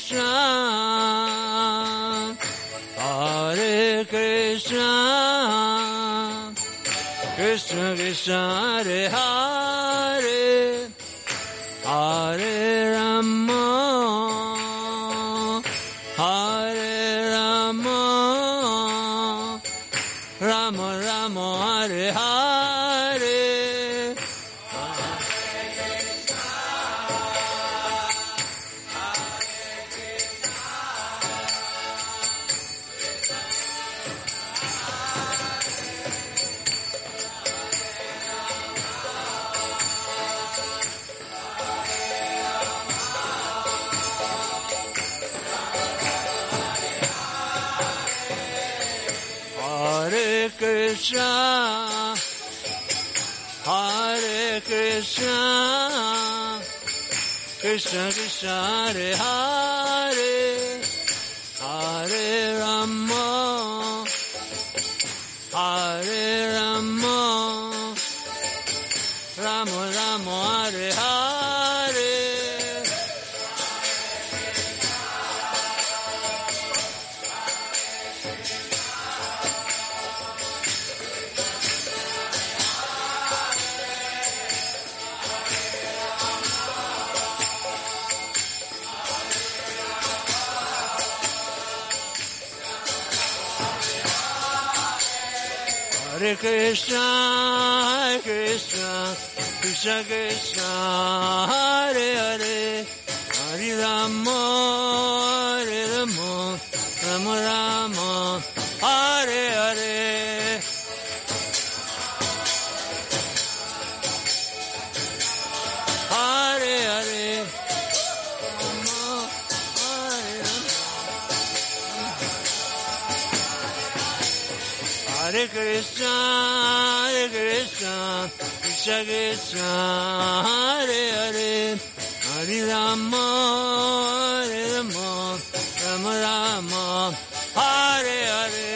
Krishna, Hare Krishna, Krishna Krishna, Hare Hare, Hare Rama, Hare Rama, Rama Rama, Hare Hare. Hare Krishna, Hare Krishna, Krishna Krishna, Hare Hare, Hare Rama, Hare Rama, Rama Rama, Hare Hare. Hare Krishna, Hare Krishna, Krishna Krishna, Hare Hare, Hare Rama, Hare Rama, Rama Rama, Hare Hare. Hare Hare, Rama, Hare Rama. Hare Krishna, Hare Krishna, Krishna Krishna, Hare Hare, Hare Rama, Hare Rama, Rama Rama, Hare Hare.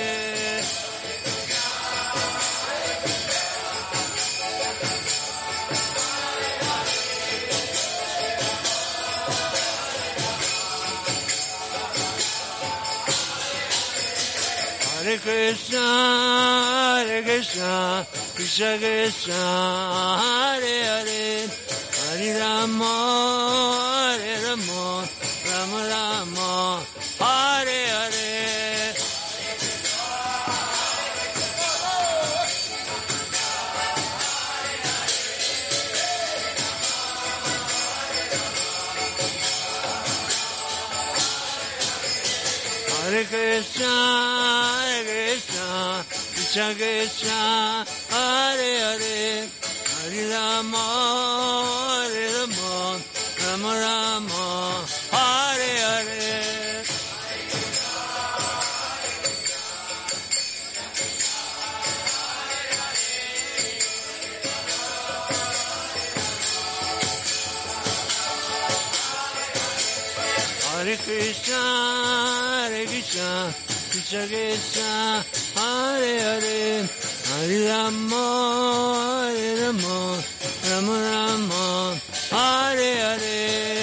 Hare Krishna, Hare Krishna, Krishna Krishna, Hare Hare, Hare Rama, Hare Rama, Rama Rama, Hare Hare. Hare Krishna, Hare Krishna, Krishna Krishna, Hare Hare, Hare Rama, Hare Rama, Rama Rama, Hare Hare. Hare Krishna, Hare Krishna, Krishna Krishna, Hare Hare, Hare Rama, Hare Rama, Rama Rama, Hare Hare.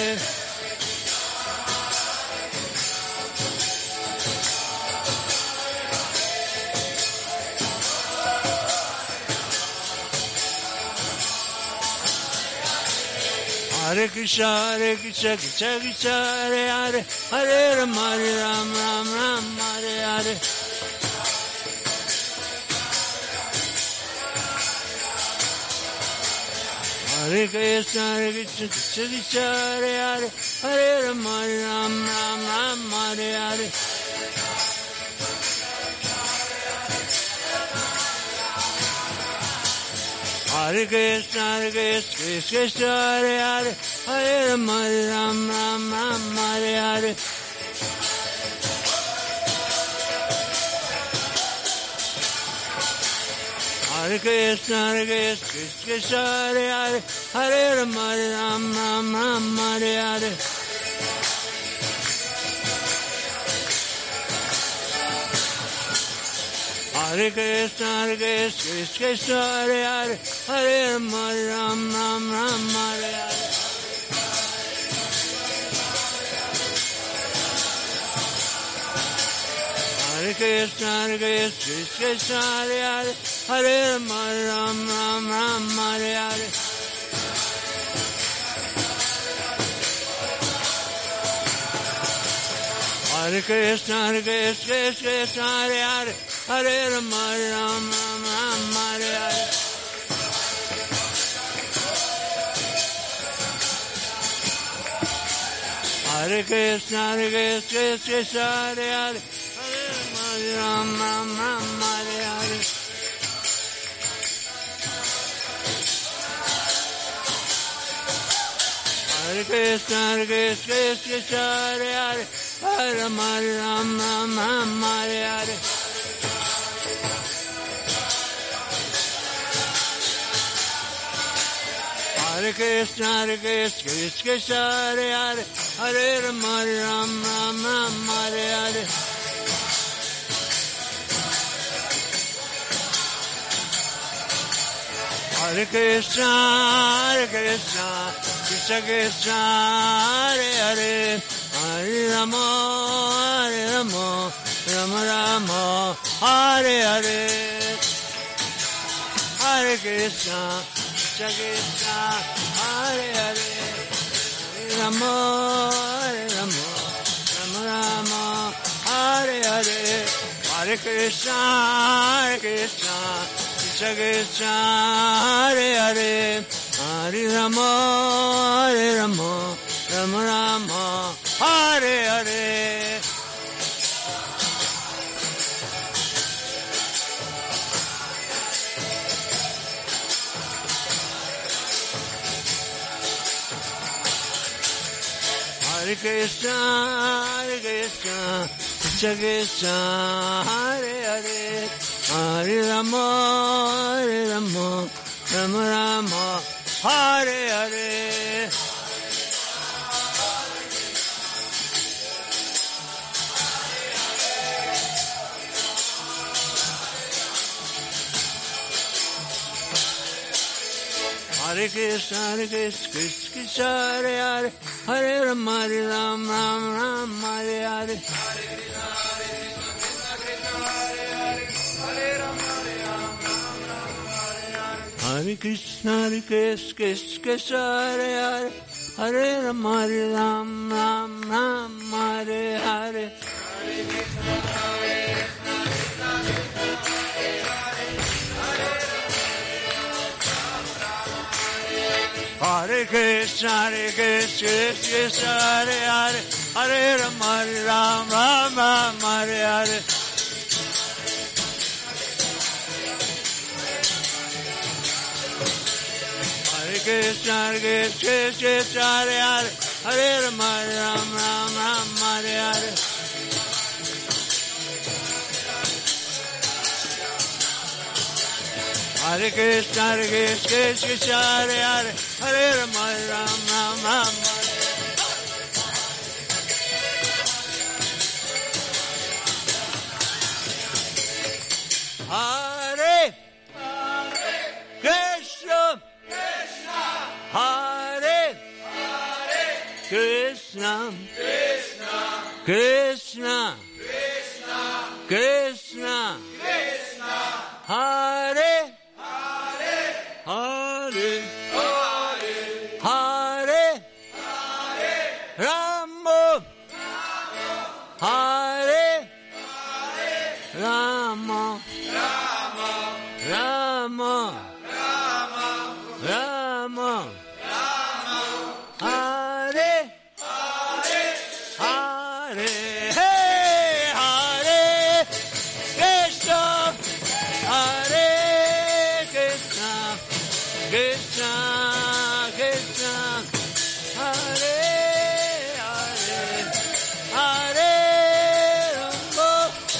Hare Krishna, Hare Krishna, Krishna Krishna, Hare Hare, Hare Rama, Hare Rama, Rama Rama, Hare Hare. Hare Krishna, Hare Krishna, Krishna Krishna, Hare Hare, Hare Rama, Hare Rama, Rama Rama, Hare Hare. Hare Krishna, Hare Krishna, Krishna Krishna, Hare Hare, Hare Rama, Hare Rama, Rama Rama, Hare Hare. Hare Krishna, Hare Krishna, Krishna Krishna, Hare Hare, Hare Rama, Hare Rama, Rama Rama, Hare Hare. Hare Krishna, Hare Krishna, Krishna Krishna, Hare Hare, Hare Rama, Hare Rama, Rama Rama, Hare Hare. Hare Krishna, Krishna, Hare Hare, Hare Rama, Rama, Rama, Hare Hare. Hare Krishna, Krishna, Hare Hare, Hare Rama, Rama, Rama, Hare Hare. Hare Krishna, Krishna, Hare Hare, Hare Rama, Rama, Hare Hare. Hare Krishna, Krishna, Hare Hare, Hare Rama, Rama, Hare Hare. Hare Krishna, Krishna, Hare Hare, Hare Rama, Rama, Hare Hare. Hare Krishna, Krishna, Krishna, Hare Hare, Hare Rama, Rama, Rama, Hare Hare. Hare Krishna, Krishna, Hare Hare, Hare Rama, Rama, Rama, Hare Hare. Hare Krishna, Krishna, Krishna, Hare Hare, Hare Rama, Rama, Rama, Hare Hare. Hare Krishna, Krishna, Krishna, Hare Hare, Hare Rama, Rama, Rama, Hare Hare. Hare Krishna, Krishna, Hare Hare, Hare Rama, Rama, Rama, Hare Hare. Hare Krishna, Krishna, Hare Hare, Hare Rama, Rama, Rama, Hare Hare. Hare Krishna, Krishna, Hare Hare, Hare Rama, Rama, Rama, Hare Hare. Hare Krishna, Krishna, Hare Hare, Hare Rama, Rama, Rama, Hare Hare. Hare Krishna, Krishna, Hare Hare, Hare Rama, Rama, Rama. Hare Krishna, Hare Krishna, Krishna, Krishna, Hare Hare, Hare Rama, Hare Rama, Rama, Rama, Hare Hare, hey, Hare Krishna, Hare Krishna, Krishna, Krishna, Hare Hare, Hare Rama.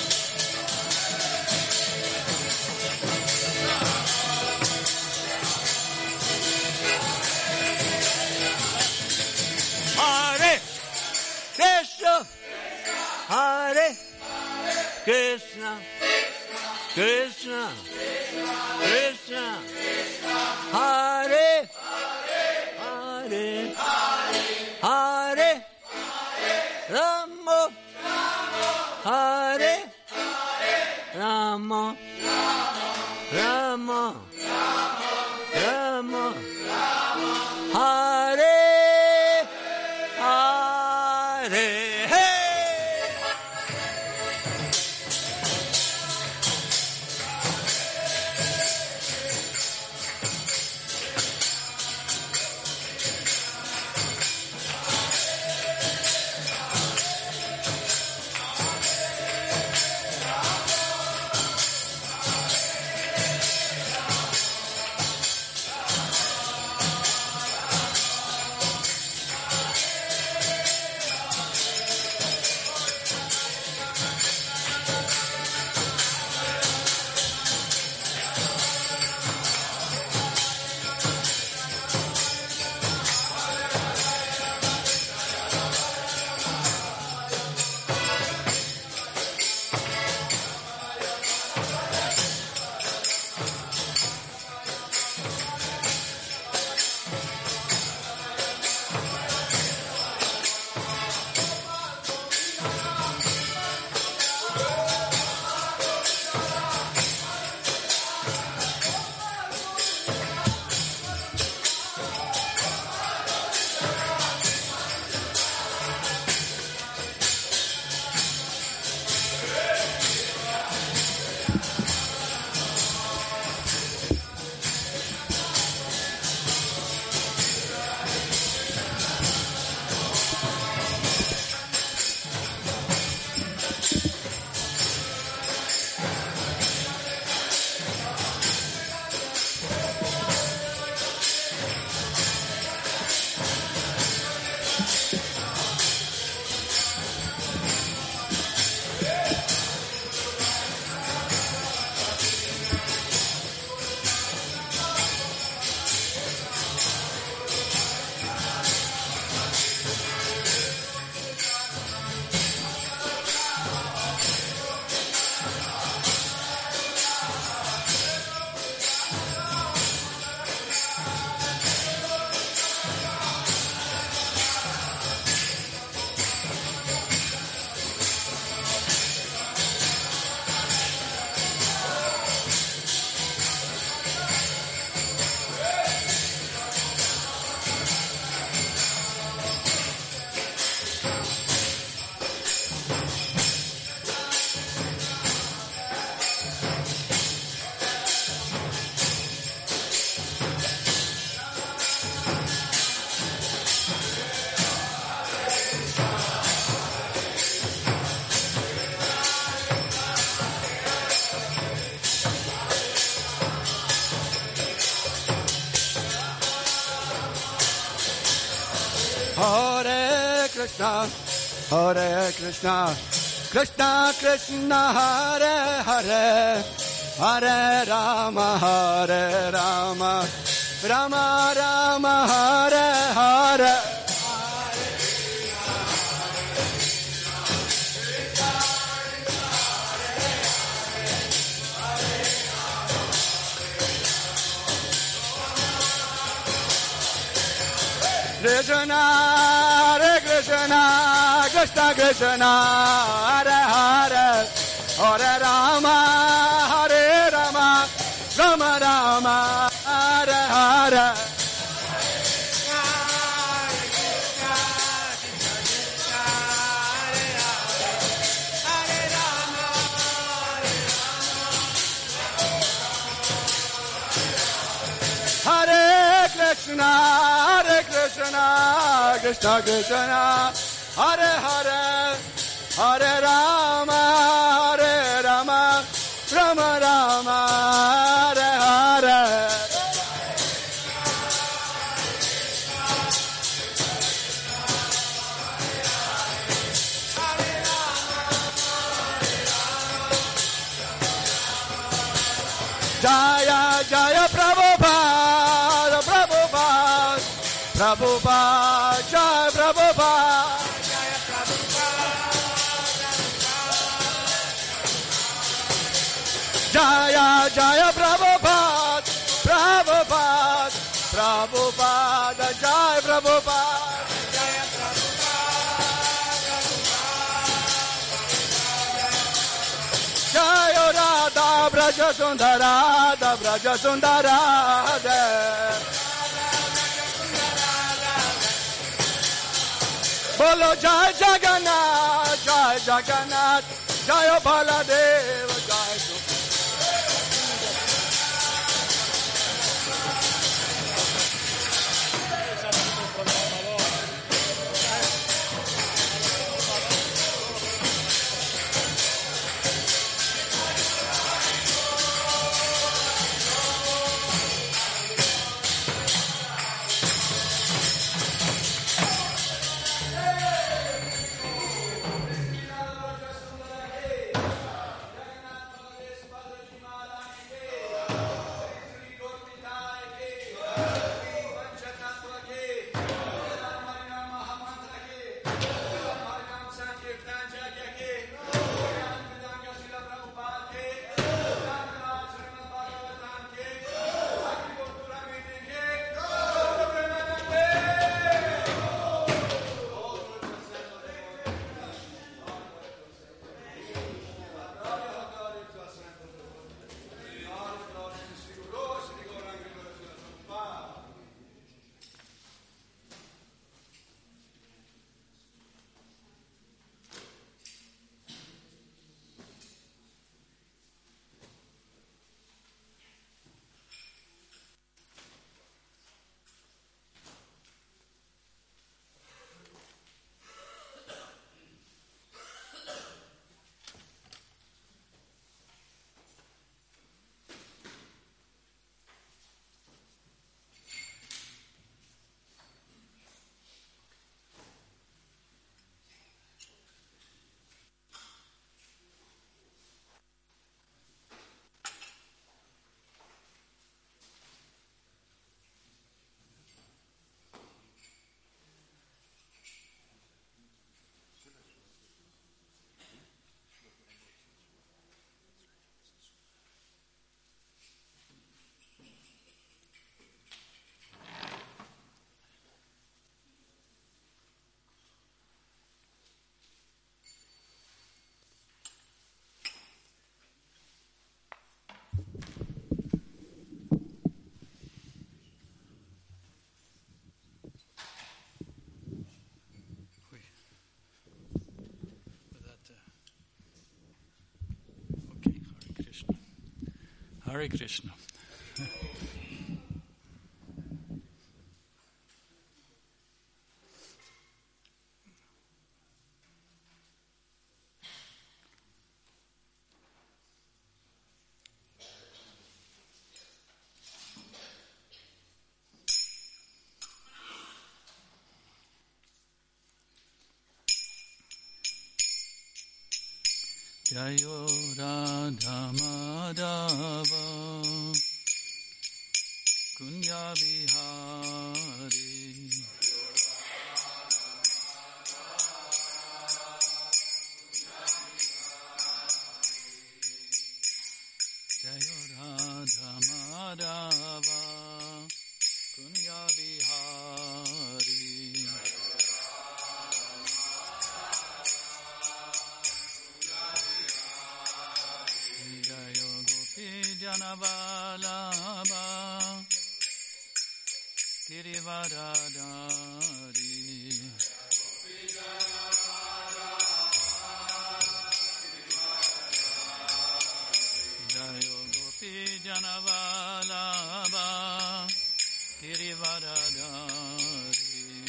Hare Krishna, Hare Krishna, Krishna, Krishna, Hare Hare, Hare Rama, Hare Hare. Hey! Hare Krishna, Hare Krishna, Krishna Krishna, Hare Hare, Hare Rama, Hare Rama, Rama Rama, Hare Hare. Krishna, Hare Krishna, Krishna Krishna, Hare Hare, Hare Rama, Hare Rama, Rama Rama, Hare Hare. Hare Krishna, Hare Krishna, Krishna Krishna, Hare Hare, Hare Rama, Hare Rama, Rama Rama, Hare Hare. Jaya Jaya Prabhupada, Prabhupada, Prabhupada, Jaya Prabhupada, Jaya Prabhupada, Jaya Jaya Prabhupada, Prabhupada, Prabhupada, Jaya Prabhupada, Jaya Prabhupada, Jaya Radha Braja Sundara, Radha Braja Sundara, Bolo Jai Jagannath, Jai Jagannath, Jai Baladeva, Jai Hare Krishna. Jayo Radha Madhava Kunya Bihari Jayo Radha Madhava Kunya Bihari Janavalabha Girivaradari Jayo Gopi Janavalabha Girivaradari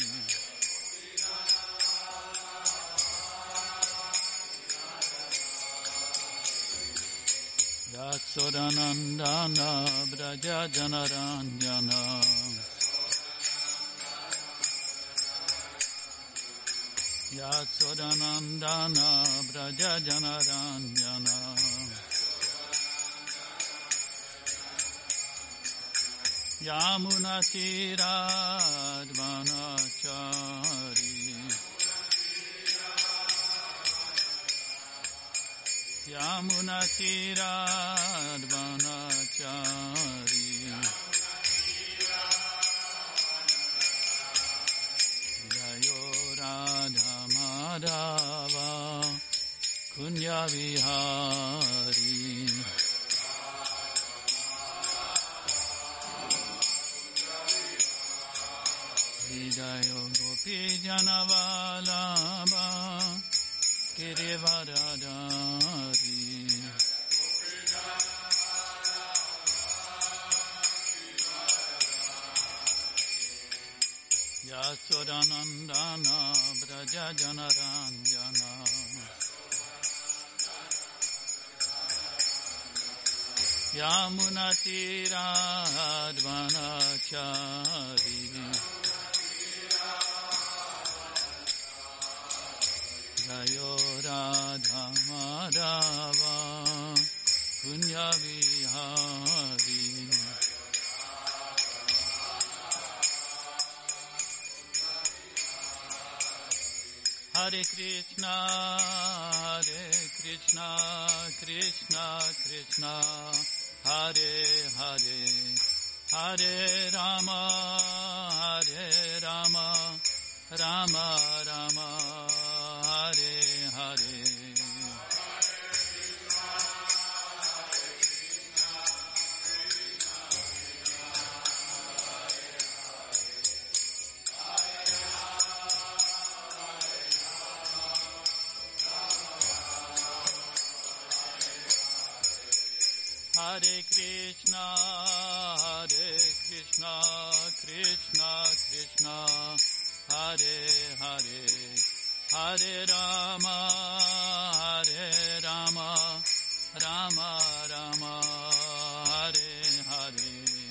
Yatsodanandana Braja Janaranjana Yatsodanandana Braja Janaranjana Yamuna Tiradvanachari Yamuna Tiradvanachari Jayo Radha Madhava Kunya Vihari Jayo Gopi Gopi Janavalabha Girivaradari Yasodanandana Braja Janaranjana Yamunatiradvanachari Jayo Radha Madhava Punya Vihari Hare Krishna, Krishna Krishna, Hare Hare, Hare Rama, Rama Rama, Hare Hare. Hare Krishna, Krishna Krishna, Hare Hare, Hare Rama, Rama Rama, Hare Hare.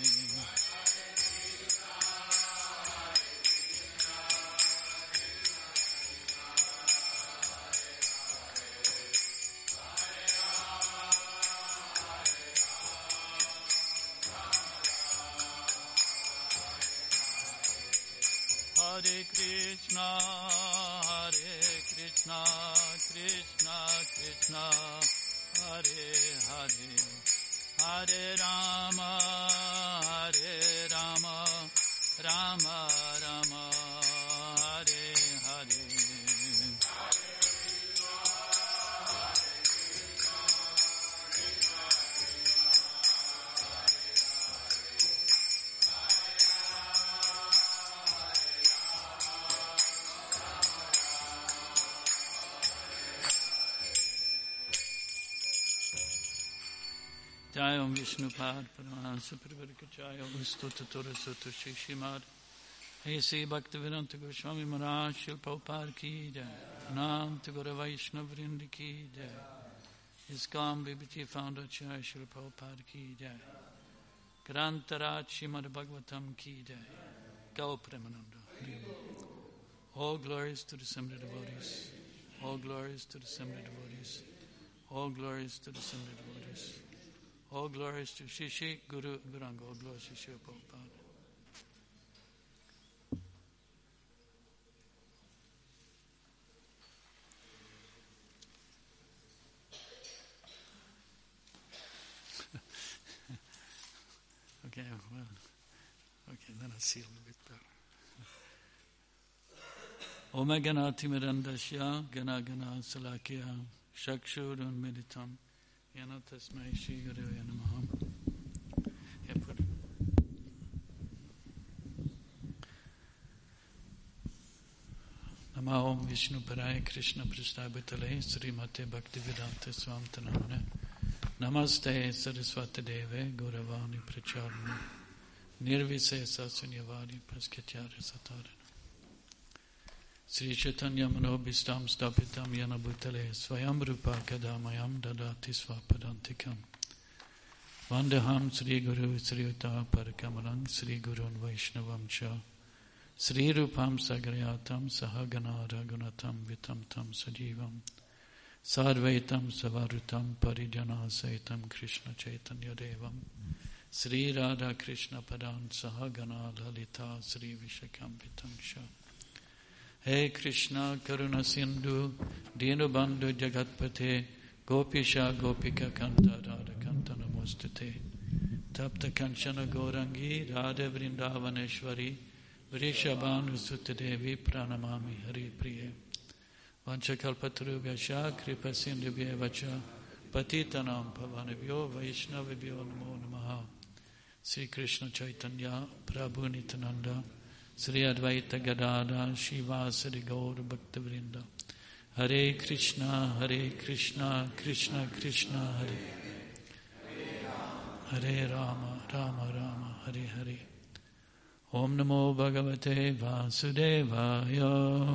Hare Krishna, Krishna Krishna, Hare Hare, Hare Rama, Rama Rama, Hare Hare. Jai Om Vishnupad Paramahansa Parvarikachaya Ustuta Tora Sutta Shri Srimad A.C. Bhaktivedanta Goswami Maharaj Srila Prabhupada Ki Jai Nam Tagore Vaishnava Vrindi Ki Jai ISKCON BBT Founder Acharya Srila Prabhupada Ki Jai Grantaraj Srimad Bhagavatam Ki Jai Gau Premananda. All glories to the Assembly devotees. All glories to the Assembly devotees. All glories to the Assembly devotees. All glories to Shishi, Guru, Guranga. All glories to Srila Prabhupada. Okay, well, okay, then I'll see a little bit better. Om Ganati Mirandasya, Gana Gana Salakya, Shakshurun Meditam. Yana Tasmai Shri Guru Namaha. Nama Om Vishnu Paraya Krishna Prastabhitale Srimate Bhaktivedanta Swamtanamane Namaste Saraswati Deve Gauravani Pracharani Nirvisesa Sunyavadi Praskatyara Satarana Sri Chaitanya Manobhistam Stapitam Yana Bhutale Swayam Rupa Kadamayam Dadati Swapadantikam Vandaham Sri Guru Sri Uta Parakamarang Sri Gurun Vaishnavam Cha Sri Rupam Sagarayatam Sahagana Ragunatam Vitam Tam Sajivam Sarvaitam Savarutam Parijana Saitam Krishna Chaitanya Devam Sri Radha Krishna Padan Sahagana Lalita Sri Vishakampitam Sha Hey Krishna Karuna Sindhu Dinu Bandhu Jagatpate Gopisha Gopika Kanta Radha Kanta Namostate Tapta Kanchana Gaurangi Radha Vrindavaneshwari Vrishabhanu Sutadevi Pranamami Hari Priye Vanchakalpatarubhyasha Kripa Sindhubhya Vacha Patitanam Pavanabhyo Vaishnavibhyo Namo Namaha Sri Krishna Chaitanya Prabhu Nityananda Sri Advaita Gadadhar Shivasari Gaur Bhaktavrinda. Hare Krishna, Krishna Krishna, Hare Hare Rama, Rama Rama, Hare Hare. Om Namo Bhagavate Vasudevaya.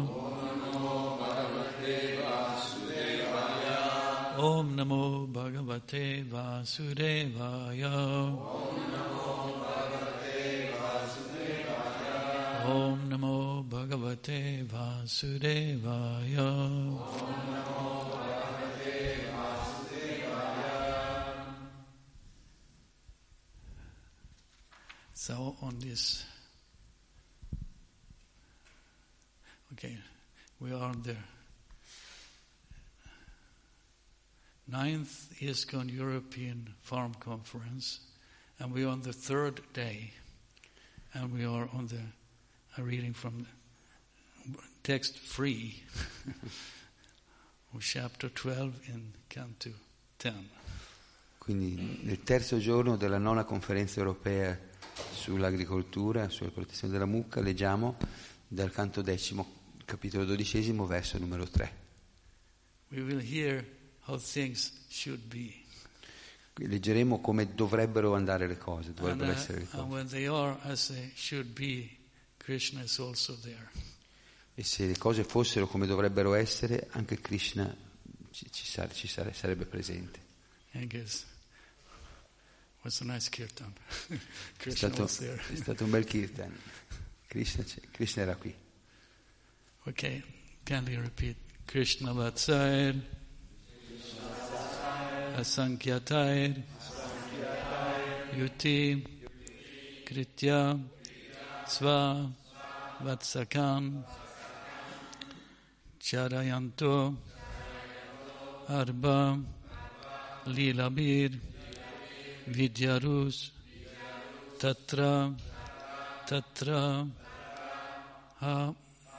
Om Namo Bhagavate Vasudevaya. Om Namo Bhagavate Vasudevaya. So on this, okay, we are on the 9th ISKCON European Farm Conference, and we are on the 3rd day, and we are on the reading from text 3 of chapter 12 in Canto 10. Quindi nel terzo giorno della 9ª conferenza europea sull'agricoltura, sulla protezione della mucca, leggiamo dal canto 10, capitolo 12, verso numero 3. We will hear how things should be. Leggeremo come dovrebbero andare le cose, dovrebbero essere le cose. And when they are as they should be, Krishna is also there. E se le cose fossero come dovrebbero essere, anche Krishna sarebbe presente. I guess was a nice kirtan. È stato un bel kirtan. Krishna era qui. Okay, can you repeat? Krishna Vatsayar Asankyatayar Yuti Kritya Sva Vatsakan Charayanto Arba Lilabir Vidyarus Tatra Ha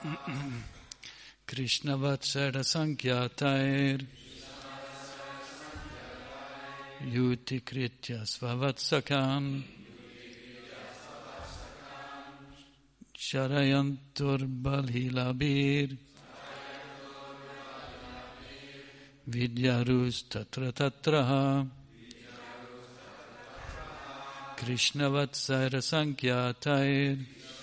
Krishna Vatsara Sankyatair Yuti Kritya Svavatsakan Sharayantur Balhilabir Vidyarus Tatra Krishna Vatsara Sankyatair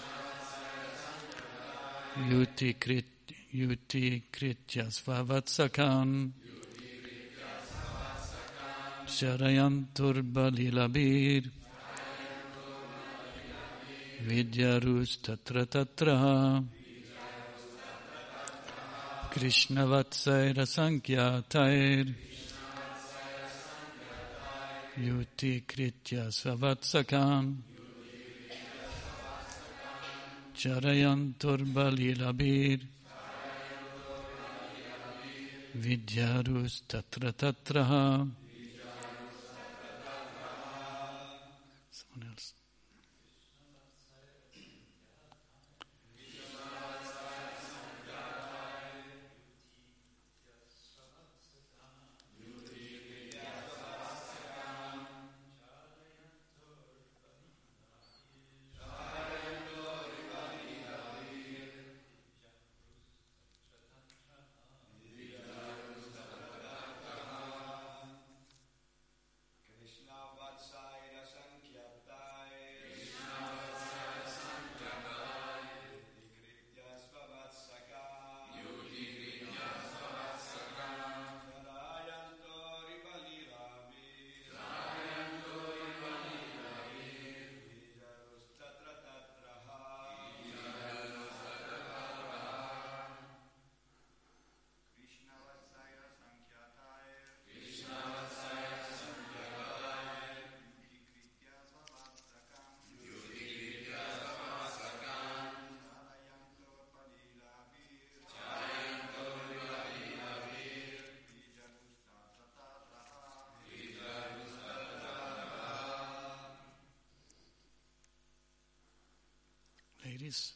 Yuti Kritya Svavatsakan Sharayantur Balhilabir Vidyarus Tatra Krishna Vatsara Sankyatair Yuti Kritya Svavatsakan Charayantur Balhilabir Vidyarus Tatra Someone else. Ladies.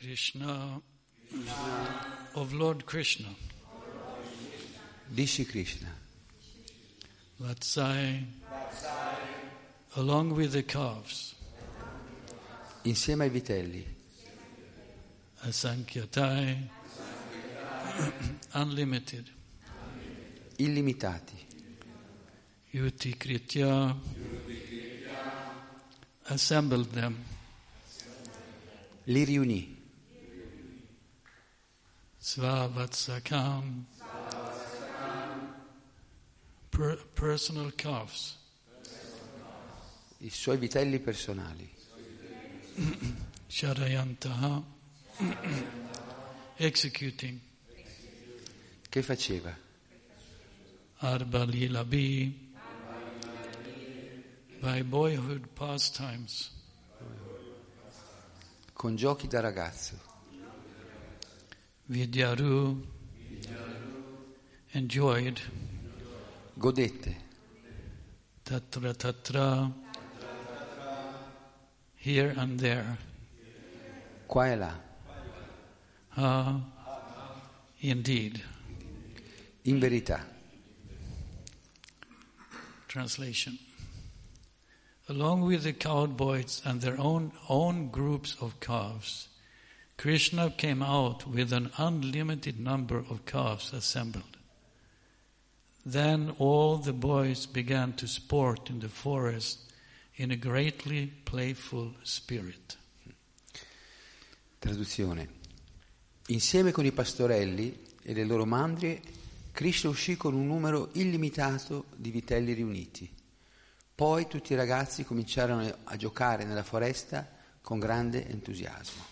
Krishna, of Lord Krishna, di Shri Krishna, Vatsai, along with the calves, insieme ai vitelli, Asankyatai, unlimited, illimitati, Yuti Kritya, assembled them, li riunì, Svavatsakam, personal calves, i suoi vitelli personali, Shadayantaha, executing, che faceva? Arbalilabi, by boyhood pastimes, Con giochi da ragazzo, Vidyaru, enjoyed, godette, Tatra Tatra, here and there, qua e là, indeed. in verità. Translation. Along with the cowboys and their own groups of calves, Krishna came out with an unlimited number of calves assembled. Then all the boys began to sport in the forest in a greatly playful spirit. Traduzione. Insieme con i pastorelli e le loro mandrie, Krishna uscì con un numero illimitato di vitelli riuniti. Poi tutti i ragazzi cominciarono a giocare nella foresta con grande entusiasmo.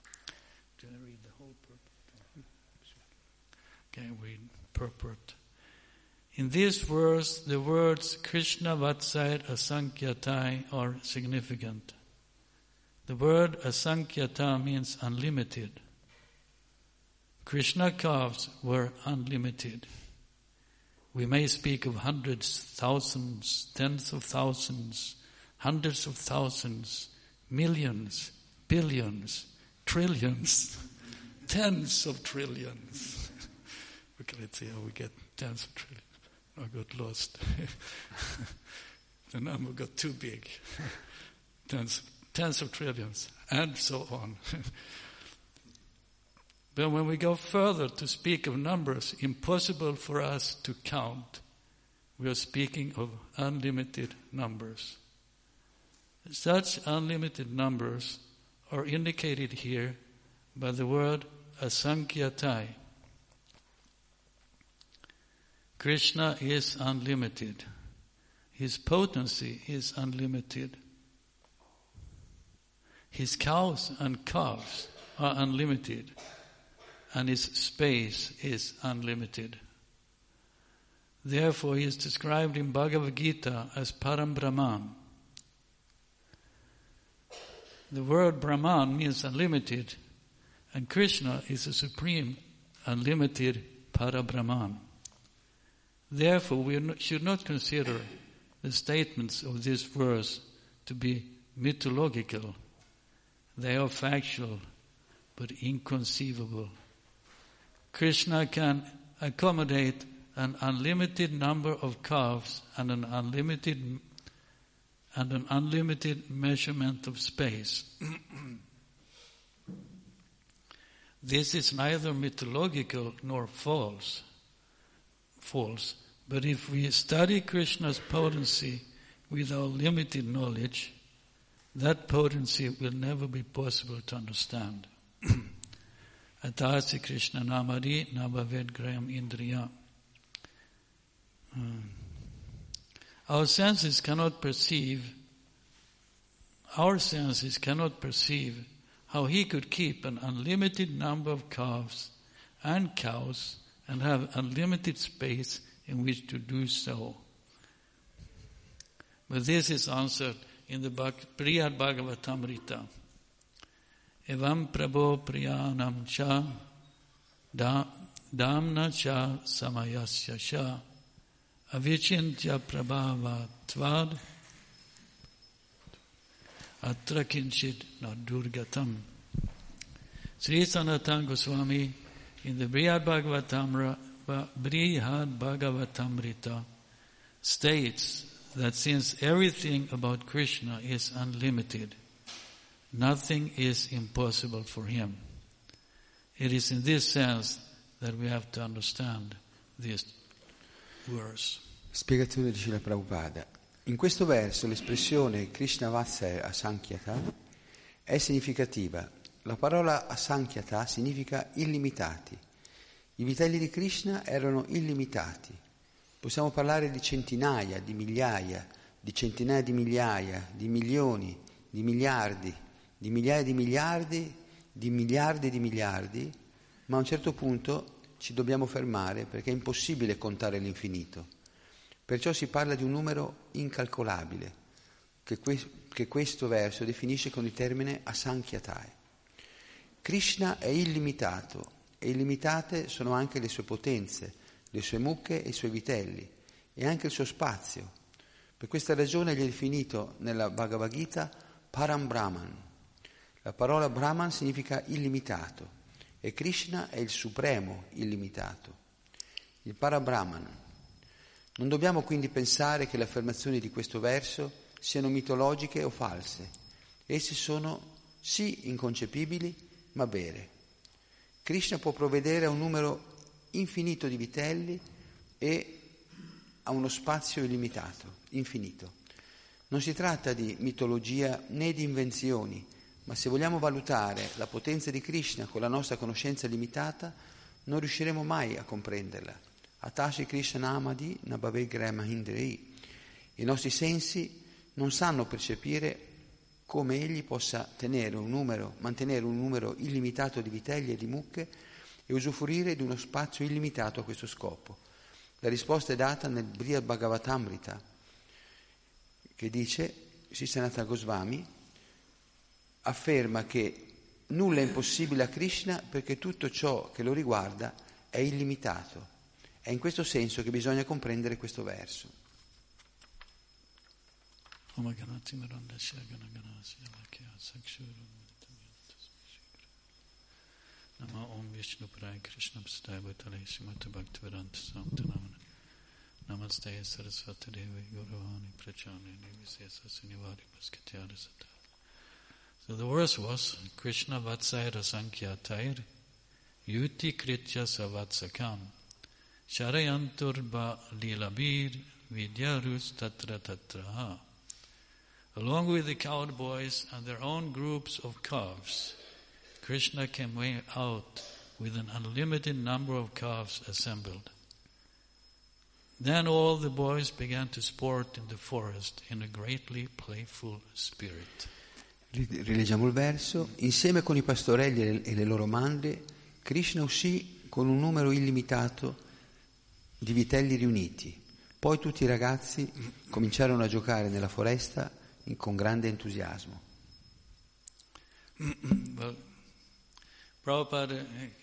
Okay, read purport. In this verse, the words Krishna Vatsai Asankyatai are significant. The word Asankyata means unlimited. Krishna calves were unlimited. We may speak of hundreds, thousands, tens of thousands, hundreds of thousands, millions, billions, trillions, tens of trillions. Okay, let's see how we get tens of trillions. I got lost. The number got too big. Tens of trillions, and so on. But when we go further to speak of numbers impossible for us to count, we are speaking of unlimited numbers. Such unlimited numbers are indicated here by the word asankyatai. Krishna is unlimited. His potency is unlimited. His cows and calves are unlimited, and his space is unlimited. Therefore, he is described in Bhagavad Gita as Param Brahman. The word Brahman means unlimited, and Krishna is the supreme, unlimited Parabrahman. Therefore, we should not consider the statements of this verse to be mythological. They are factual, but inconceivable. Krishna can accommodate an unlimited number of calves and an unlimited measurement of space. This is neither mythological nor false. But if we study Krishna's potency with our limited knowledge, that potency will never be possible to understand. Atasi Krishna namari nabhaved graham indriya. Our senses cannot perceive how he could keep an unlimited number of calves and cows and have unlimited space in which to do so. But this is answered in the Brihad Bhagavatamrita. Evam prabho priyanam cha damna cha samayasya cha avichintya prabhava tvad atra kinchit na durgatam. Sri Sanatana Goswami in the Brihad Bhagavatamrita states that since everything about Krishna is unlimited, nothing is impossible for him. It is in this sense that we have to understand this verse. Spiegazione di Srila Prabhupada. In questo verso l'espressione Krishna Vatsa Asankyata è significativa. La parola Asankyata significa illimitati. I vitelli di Krishna erano illimitati. Possiamo parlare di centinaia, di migliaia, di centinaia di migliaia, di milioni, di miliardi, di migliaia di miliardi, di miliardi di miliardi, ma a un certo punto ci dobbiamo fermare perché è impossibile contare l'infinito. Perciò si parla di un numero incalcolabile, che questo verso definisce con il termine Asankhyatai. Krishna è illimitato e illimitate sono anche le sue potenze, le sue mucche e i suoi vitelli e anche il suo spazio. Per questa ragione gli è definito nella Bhagavad Gita Param Brahman. La parola Brahman significa illimitato e Krishna è il supremo illimitato, il Parabrahman. Non dobbiamo quindi pensare che le affermazioni di questo verso siano mitologiche o false. Esse sono sì inconcepibili, ma vere. Krishna può provvedere a un numero infinito di vitelli e a uno spazio illimitato, infinito. Non si tratta di mitologia né di invenzioni, ma se vogliamo valutare la potenza di Krishna con la nostra conoscenza limitata, non riusciremo mai a comprenderla. Atashi Krishna Namadi Nabhave Grama Hindrei. I nostri sensi non sanno percepire come egli possa mantenere un numero illimitato di vitelli e di mucche e usufruire di uno spazio illimitato a questo scopo. La risposta è data nel Brihad Bhagavatamrita, che dice, Sri Sanatana Goswami afferma che nulla è impossibile a Krishna perché tutto ciò che lo riguarda è illimitato. È in questo senso che bisogna comprendere questo verso. Nama Om Vishnu Padaya Krishna Pastaya Bhutale Srimati Bhaktivedanta Samtanamana Namaste Saraswati Devi Gauravani Prachani Nivisesa Sinivari Paskatyara Sata. So the verse was Krishna Vatsayra Sankhyatai Yuti Kritya Savatsakam Sharayanturba Lilabir Vidyarus Tatra Tatraha. Along with the cowboys and their own groups of calves, Krishna came out with an unlimited number of calves assembled. Then all the boys began to sport in the forest in a greatly playful spirit. Rileggiamo il verso. Insieme con i pastorelli e le loro mandrie, Krishna uscì con un numero illimitato di vitelli riuniti. Poi tutti i ragazzi cominciarono a giocare nella foresta con grande entusiasmo. Well, Prabhupada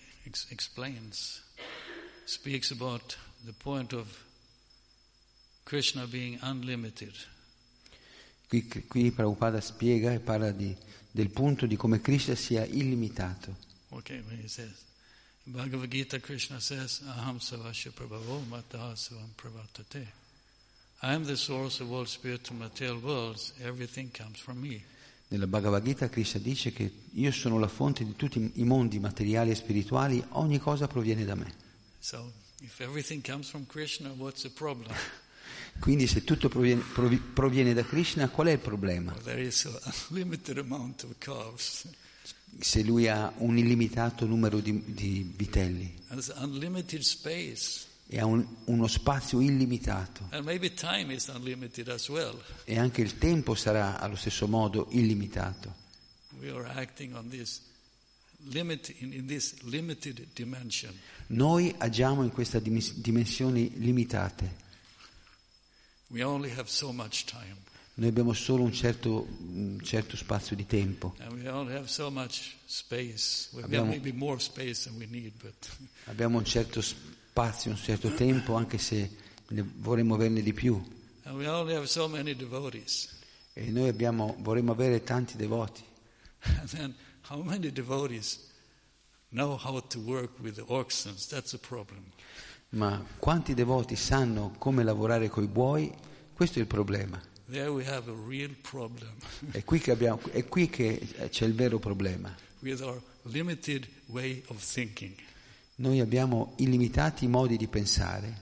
speaks about the point of Krishna being unlimited. Qui Prabhupada spiega e parla del punto di come Krishna sia illimitato. Okay, when he says, in Bhagavad Gita, Krishna says, Aham Savasya Prabhavo Mataha Savam Pravartate. I am the source of all spiritual material worlds, everything comes from me. Nella Bhagavad Gita Krishna dice che io sono la fonte di tutti i mondi materiali e spirituali, ogni cosa proviene da me. So, if everything comes from Krishna, what's the problem? Quindi se tutto proviene da Krishna, qual è il problema? Well, there is a limited amount of calves. Se lui ha un illimitato numero di vitelli And it's unlimited space. e ha uno spazio illimitato, And maybe time is unlimited as well. e anche il tempo sarà allo stesso modo illimitato. We are acting on this in this limited dimension. Noi agiamo in queste dimensioni limitate. We only have so much time. Noi abbiamo solo un certo spazio di tempo. And we only have so much space. We have Abbiamo- maybe more space than we need, but Abbiamo un certo spazio, un certo tempo, anche se vorremmo averne di più. and we only have so many devotees. E noi vorremmo avere tanti devoti. And then how many devotees know how to work with the oxen. That's a problem. Ma quanti devoti sanno come lavorare coi buoi? Questo è il problema. There we have a real problem. È qui che c'è il vero problema. With our limited way of thinking. Noi abbiamo illimitati modi di pensare.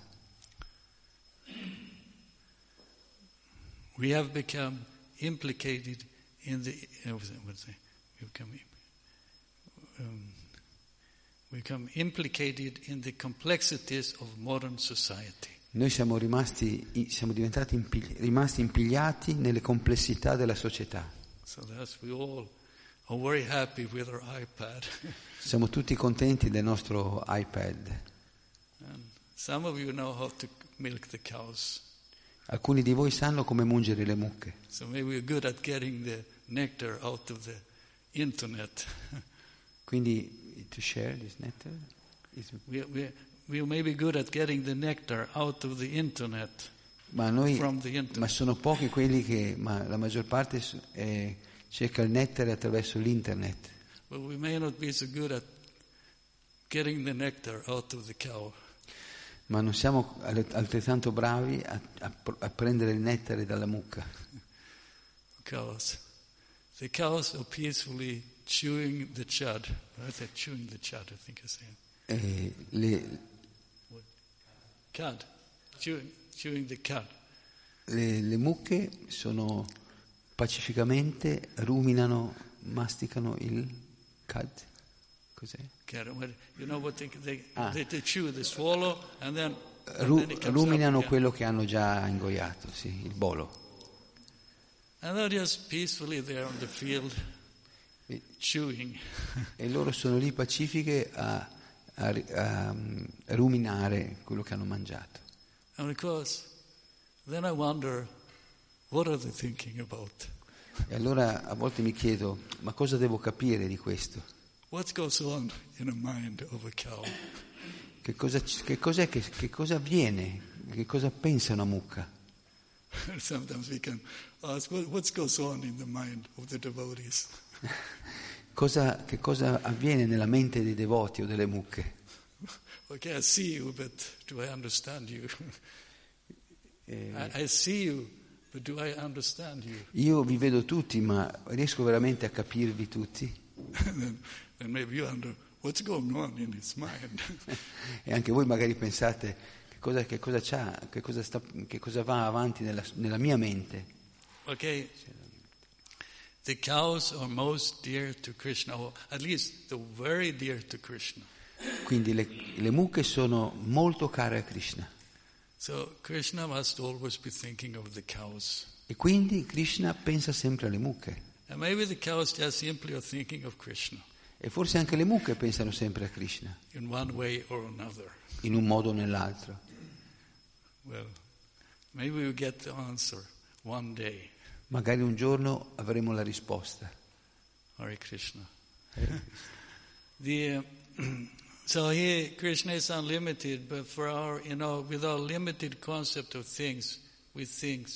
We have become implicated in the become implicated in the complexities of modern society. Noi siamo diventati rimasti impigliati nelle complessità della società. So that's we all are very happy with our iPad. Siamo tutti contenti del nostro iPad. And some of you know how to milk the cows. Alcuni di voi sanno come mungere le mucche. So maybe we're good at getting the nectar out of the internet. Quindi to share this nectar We may be good at getting the nectar out of the internet. From the internet. Ma sono pochi quelli ma la maggior parte cerca il nettare attraverso l'internet. But we may not be so good at getting the nectar out of the cow. Ma non siamo altrettanto bravi a prendere il nettare dalla mucca. Because the cows are peacefully chewing the cud. Chewing the cud, I think I said. Cud. Chewing the cud. Le mucche sono pacificamente masticano il cud. Cos'è? You know what they chew, they swallow and then ruminano quello che hanno già ingoiato, sì, il bolo. And they're just peacefully there on the field chewing. E loro sono lì pacifiche a ruminare quello che hanno mangiato. And of course, then I wonder, what are they thinking about? E allora a volte mi chiedo, ma cosa devo capire di questo? What goes on in the mind of a cow? Che cosa avviene? Che cosa pensa una mucca? Sometimes we can ask, what goes on in the mind of the devotees? Che cosa avviene nella mente dei devoti o delle mucche? Okay, I see you, but do I understand you? I see you, but do I understand you? Io vi vedo tutti, ma riesco veramente a capirvi tutti? And maybe you wonder what's going on in his mind. E anche voi magari pensate che cosa va avanti nella mia mente. Okay. The cows are most dear to Krishna, or at least the very dear to Krishna. Quindi le mucche sono molto care a Krishna. So Krishna must always be thinking of the cows. E quindi Krishna pensa sempre alle mucche. And maybe the cows just simply are thinking of Krishna. E forse anche le mucche pensano sempre a Krishna. In one way or another. In un modo o nell'altro. Well, maybe we'll get the answer one day. Magari un giorno avremo la risposta. Hare Krishna. So here Krishna is unlimited, but for our, with our limited concept of things, we think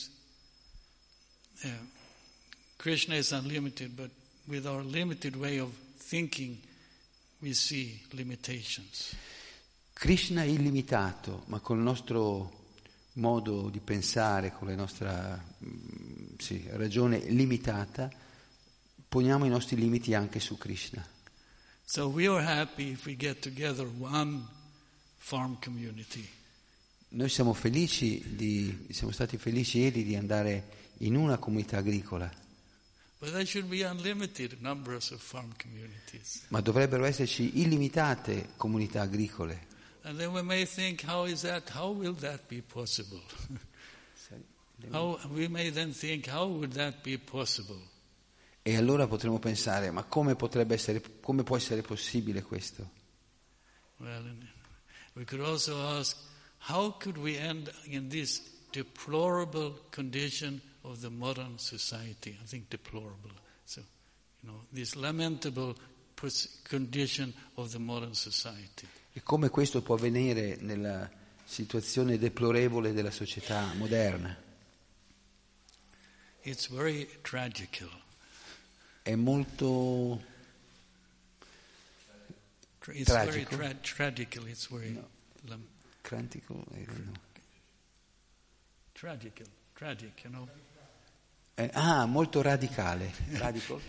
Krishna is unlimited, but with our limited way of thinking, we see limitations. Krishna è illimitato, ma col nostro modo di pensare, con la nostra ragione limitata, poniamo i nostri limiti anche su Krishna. So we are happy if we get together one farm community. Noi siamo stati felici ieri di andare in una comunità agricola. But there should be unlimited numbers of farm communities. Ma dovrebbero esserci illimitate comunità agricole. And then we may think, how will that be possible? We may then think, how would that be possible? E allora potremo pensare, ma come può essere possibile questo? Well, we could also ask, how could we end in this deplorable condition of the modern society? I think deplorable. So, this lamentable condition of the modern society. E come questo può avvenire nella situazione deplorevole della società moderna? It's very tragical. È molto It's tragico. very tragical. It's very Crantico? No. tragic, you know. Molto radicale. Radical?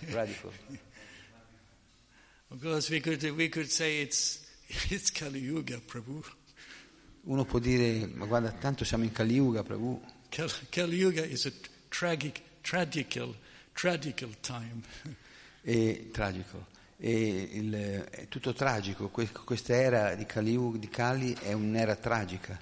Because we could say it's Kali Yuga, Prabhu. Uno può dire, ma guarda, tanto siamo in Kali Yuga, Prabhu. Kali Yuga is a tragical time. Tragico. È tutto tragico. Questa era di Kali è un'era tragica.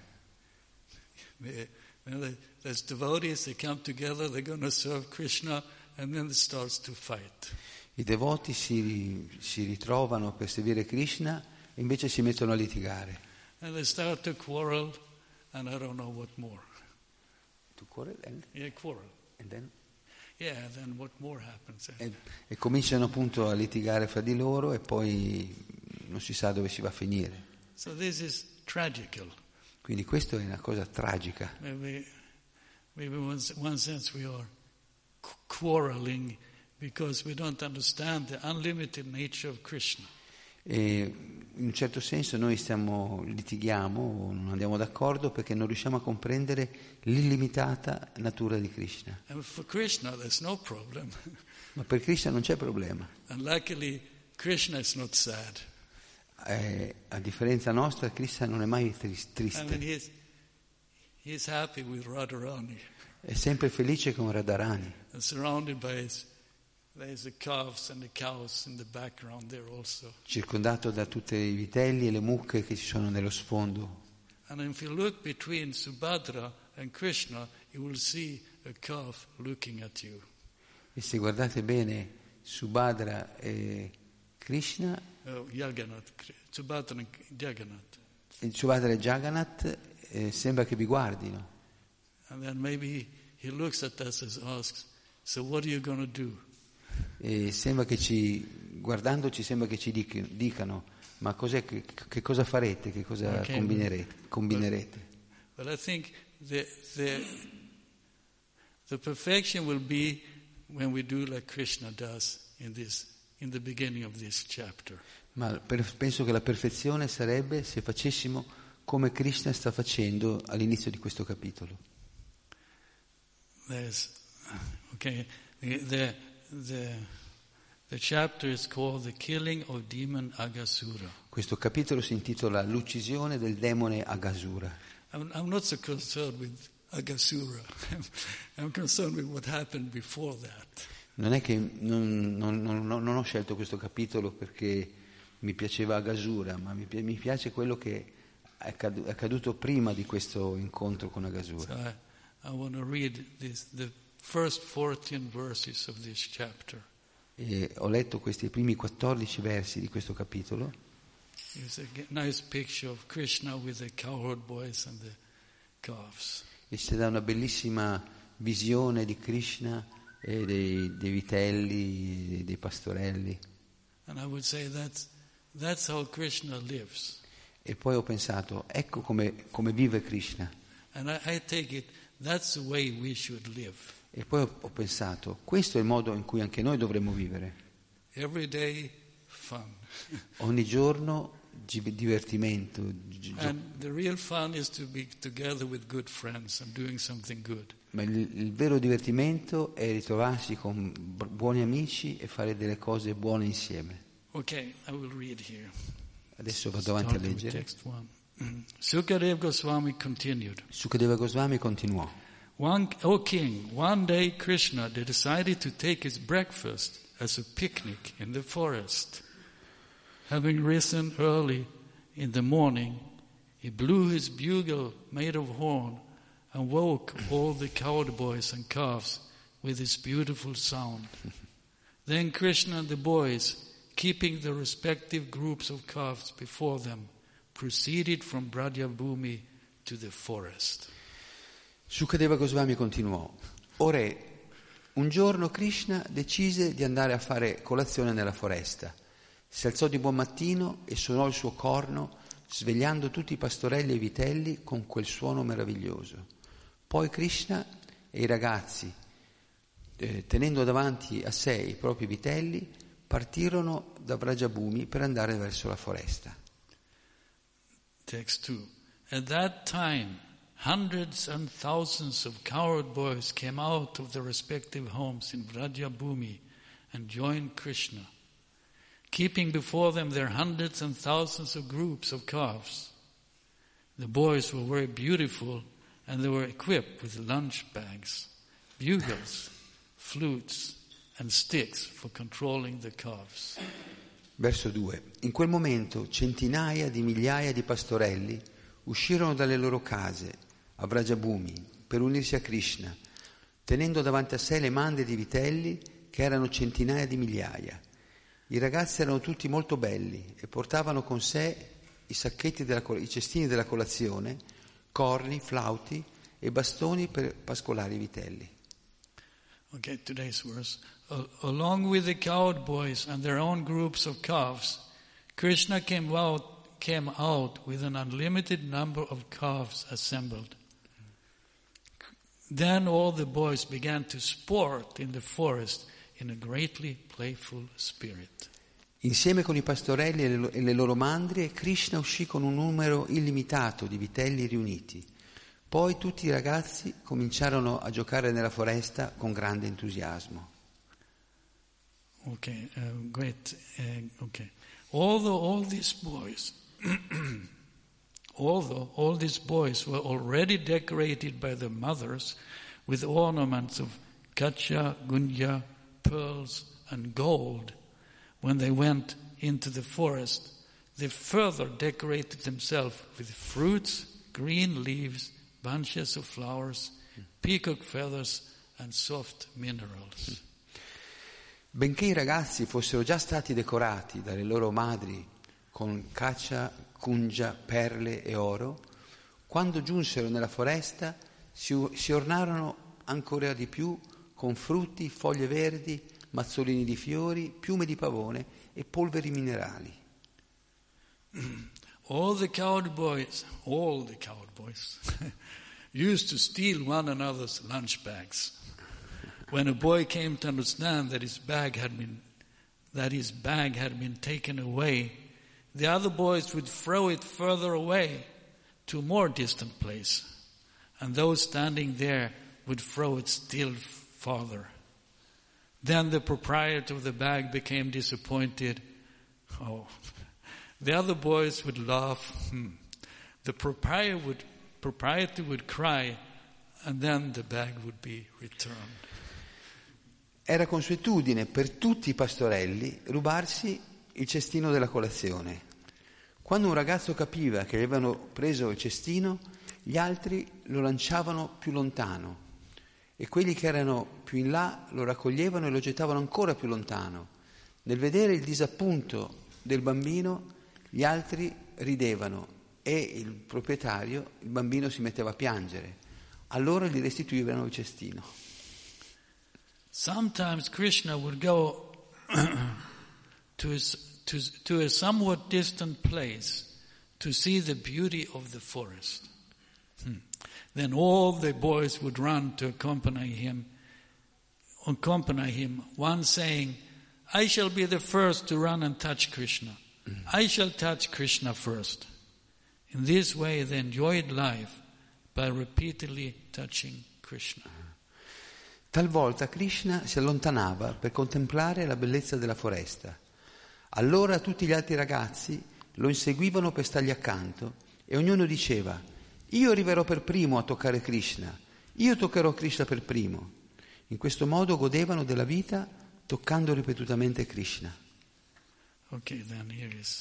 There's devotees, they come together, they're going to serve Krishna, and then it starts to fight. I devoti si ritrovano per servire Krishna e invece si mettono a litigare. And they start to quarrel, and I don't know what more. To quarrel? Yeah, quarrel. And then? Yeah, then what more happens? E cominciano appunto a litigare fra di loro e poi non si sa dove si va a finire. So this is tragical. Quindi questo è una cosa tragica. Maybe in one sense we are quarreling because we don't understand the unlimited nature of Krishna. E in un certo senso noi litighiamo o non andiamo d'accordo perché non riusciamo a comprendere l'illimitata natura di Krishna. And for Krishna there's no problem. Ma per Krishna non c'è problema. And luckily Krishna is not sad. A differenza nostra, Krishna non è mai triste. I mean, he's happy with Radharani. È sempre felice con Radharani. And surrounded by there's the calves and the cows in the background there also. Circondato da tutti i vitelli e le mucche che ci sono nello sfondo. And if you look between Subhadra and Krishna, you will see a calf looking at you. E se guardate bene Subhadra e Krishna, Subhadra e Jagannath. Subhadra e Jagannath sembra che vi guardino. And then maybe he looks at us and asks, so what are you going to do? E sembra che guardandoci sembra che ci dicano, ma che cosa farete, che cosa combinerete? But I think the perfection will be when we do like Krishna does in the beginning of this chapter. Ma penso che la perfezione sarebbe se facessimo come Krishna sta facendo all'inizio di questo capitolo. The chapter is called The Killing of Demon Aghasura. Questo capitolo si intitola L'uccisione del demone Aghasura. I'm not so concerned with Aghasura. I'm concerned with what happened before that. Non è che non ho scelto questo capitolo perché mi piaceva Aghasura, ma mi piace quello che è accaduto prima di questo incontro con Aghasura. So I want to read the first 14 verses of this chapter. E ho letto questi primi 14 versi di questo capitolo. It's a nice picture of Krishna with the cowherd boys and the calves. E ci dà una bellissima visione di Krishna e dei vitelli, dei pastorelli. And I would say that's how Krishna lives. E poi ho pensato, ecco come vive Krishna. And I take it that's the way we should live. E poi ho pensato, questo è il modo in cui anche noi dovremmo vivere. Every day fun. Ogni giorno divertimento. And the real fun is to be together with good friends and doing something good. Ma il vero divertimento è ritrovarsi con buoni amici e fare delle cose buone insieme. Okay, I will read here. Adesso vado avanti a leggere. Sukadeva Goswami continued. Sukadeva Goswami continuò. O king, one day Krishna decided to take his breakfast as a picnic in the forest. Having risen early in the morning, he blew his bugle made of horn and woke all the cowherd boys and calves with his beautiful sound. Then Krishna and the boys, keeping the respective groups of calves before them, proceeded from Brajabhumi to the forest. Sukadeva Goswami continuò. O re, un giorno Krishna decise di andare a fare colazione nella foresta. Si alzò di buon mattino e suonò il suo corno, svegliando tutti i pastorelli e i vitelli con quel suono meraviglioso. Poi Krishna e i ragazzi, tenendo davanti a sé i propri vitelli, partirono da Vrajabhumi per andare verso la foresta. Text 2. At that time, hundreds and thousands of cowherd boys came out of their respective homes in Vrajabhumi and joined Krishna, keeping before them their hundreds and thousands of groups of calves. The boys were very beautiful, and they were equipped with lunch bags, bugles, flutes, and sticks for controlling the calves. Verso 2. In quel momento centinaia di migliaia di pastorelli uscirono dalle loro case a Vrajabhumi per unirsi a Krishna, tenendo davanti a sé le mande di vitelli che erano centinaia di migliaia. I ragazzi erano tutti molto belli e portavano con sé i cestini della colazione, corni, flauti e bastoni per pascolare i vitelli. Okay, today's verse. Along with the cowherd boys and their own groups of calves, Krishna came out with an unlimited number of calves assembled. Then all the boys began to sport in the forest in a greatly playful spirit. Insieme con i pastorelli e le loro mandrie, Krishna uscì con un numero illimitato di vitelli riuniti. Poi tutti i ragazzi cominciarono a giocare nella foresta con grande entusiasmo. Okay, great. Okay. Although all these boys were already decorated by their mothers with ornaments of kacha, gunja, pearls, and gold, when they went into the forest, they further decorated themselves with fruits, green leaves, bunches of flowers, peacock feathers, and soft minerals. Benché i ragazzi fossero già stati decorati dalle loro madri con kacha, kunja, perle e oro, quando giunsero nella foresta si ornarono ancora di più con frutti, foglie verdi, mazzolini di fiori, piume di pavone e polveri minerali. All the cowherd boys used to steal one another's lunch bags. When a boy came to understand that his bag had been taken away, the other boys would throw it further away to a more distant place, and those standing there would throw it still farther. Then the proprietor of the bag became disappointed. The other boys would laugh. The proprietor would cry, and then the bag would be returned. Era consuetudine per tutti i pastorelli rubarsi il cestino della colazione. Quando un ragazzo capiva che avevano preso il cestino, gli altri lo lanciavano più lontano e quelli che erano più in là lo raccoglievano e lo gettavano ancora più lontano. Nel vedere il disappunto del bambino, gli altri ridevano e il proprietario, il bambino, si metteva a piangere. Allora gli restituivano il cestino. Sometimes Krishna would go to a somewhat distant place to see the beauty of the forest. Then all the boys would run to accompany him, one saying, "I shall be the first to run and touch Krishna. I shall touch Krishna first." In this way they enjoyed life by repeatedly touching Krishna. Talvolta Krishna si allontanava per contemplare la bellezza della foresta. Allora tutti gli altri ragazzi lo inseguivano per stargli accanto e ognuno diceva: "Io arriverò per primo a toccare Krishna, io toccherò Krishna per primo." In questo modo godevano della vita toccando ripetutamente Krishna. Okay, then here is.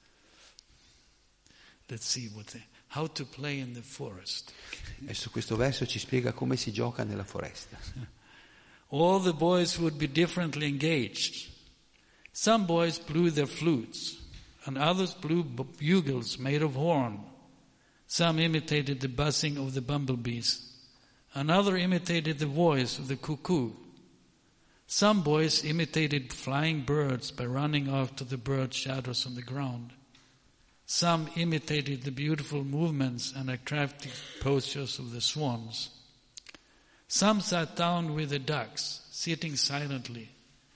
Let's see how to play in the forest. Adesso questo verso ci spiega come si gioca nella foresta. All the boys would be differently engaged. Some boys blew their flutes, and others blew bugles made of horn. Some imitated the buzzing of the bumblebees. Another imitated the voice of the cuckoo. Some boys imitated flying birds by running after the bird shadows on the ground. Some imitated the beautiful movements and attractive postures of the swans. Some sat down with the ducks, sitting silently.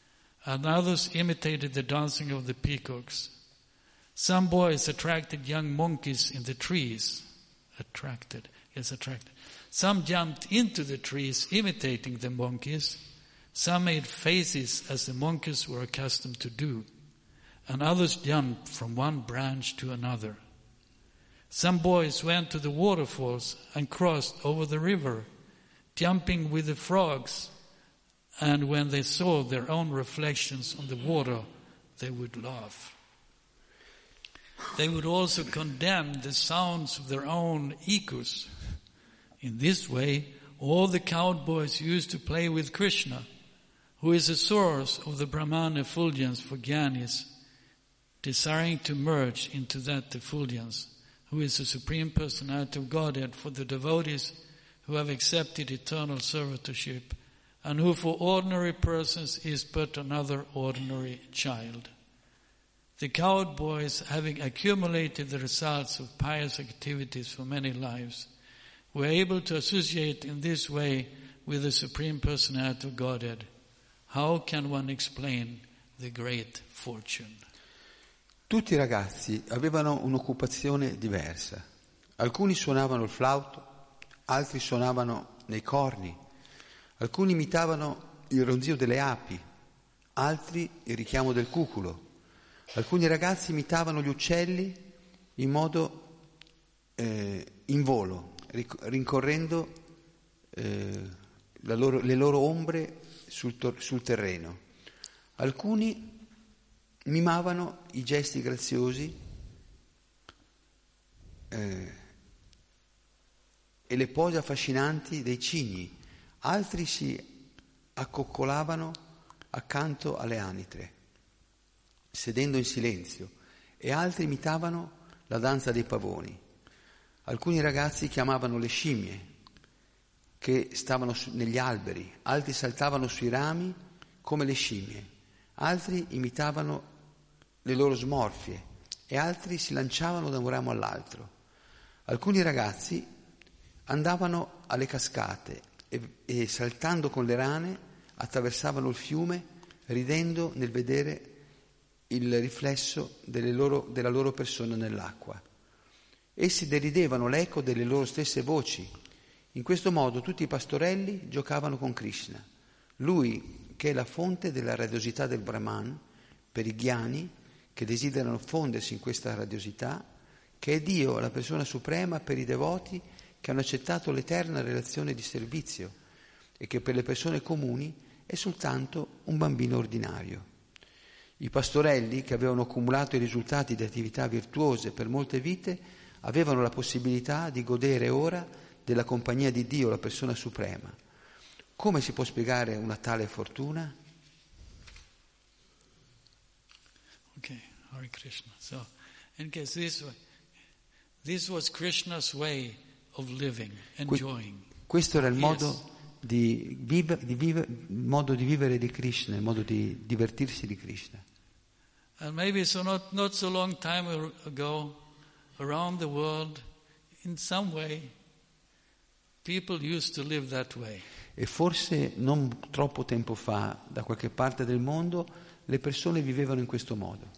and others imitated the dancing of the peacocks. Some boys attracted young monkeys in the trees. Attracted. Some jumped into the trees imitating the monkeys. Some made faces as the monkeys were accustomed to do, and others jumped from one branch to another. Some boys went to the waterfalls and crossed over the river, jumping with the frogs, and when they saw their own reflections on the water, they would laugh. They would also condemn the sounds of their own echoes. In this way, all the cowboys used to play with Krishna, who is the source of the Brahman effulgence for Jnanis, desiring to merge into that effulgence, who is the Supreme Personality of Godhead for the devotees who have accepted eternal servitorship, and who for ordinary persons is but another ordinary child. The cowboys, having accumulated the results of pious activities for many lives, were able to associate in this way with the Supreme Personality of Godhead. How can one explain the great fortune? Tutti i ragazzi avevano un'occupazione diversa. Alcuni suonavano il flauto, altri suonavano nei corni, alcuni imitavano il ronzio delle api, altri il richiamo del cuculo. Alcuni ragazzi imitavano gli uccelli in modo in volo, rincorrendo le loro ombre sul terreno. Alcuni mimavano i gesti graziosi e le pose affascinanti dei cigni, altri si accoccolavano accanto alle anitre, sedendo in silenzio, e altri imitavano la danza dei pavoni. Alcuni ragazzi chiamavano le scimmie che stavano negli alberi, altri saltavano sui rami come le scimmie, altri imitavano le loro smorfie e altri si lanciavano da un ramo all'altro. Alcuni ragazzi andavano alle cascate e saltando con le rane attraversavano il fiume, ridendo nel vedere il riflesso della loro persona nell'acqua. Essi deridevano l'eco delle loro stesse voci. In questo modo tutti i pastorelli giocavano con Krishna, lui che è la fonte della radiosità del Brahman, per i ghiani che desiderano fondersi in questa radiosità, che è Dio, la persona suprema, per i devoti che hanno accettato l'eterna relazione di servizio e che per le persone comuni è soltanto un bambino ordinario. I pastorelli, che avevano accumulato i risultati di attività virtuose per molte vite, avevano la possibilità di godere ora della compagnia di Dio, la persona suprema. Come si può spiegare una tale fortuna? Okay, Hare Krishna. So, in case this was Krishna's way of living, enjoying. Questo era il modo di vivere di Krishna, il modo di divertirsi di Krishna. And maybe not so long time ago, around the world, in some way, people used to live that way. E forse non troppo tempo fa, da qualche parte del mondo, le persone vivevano in questo modo.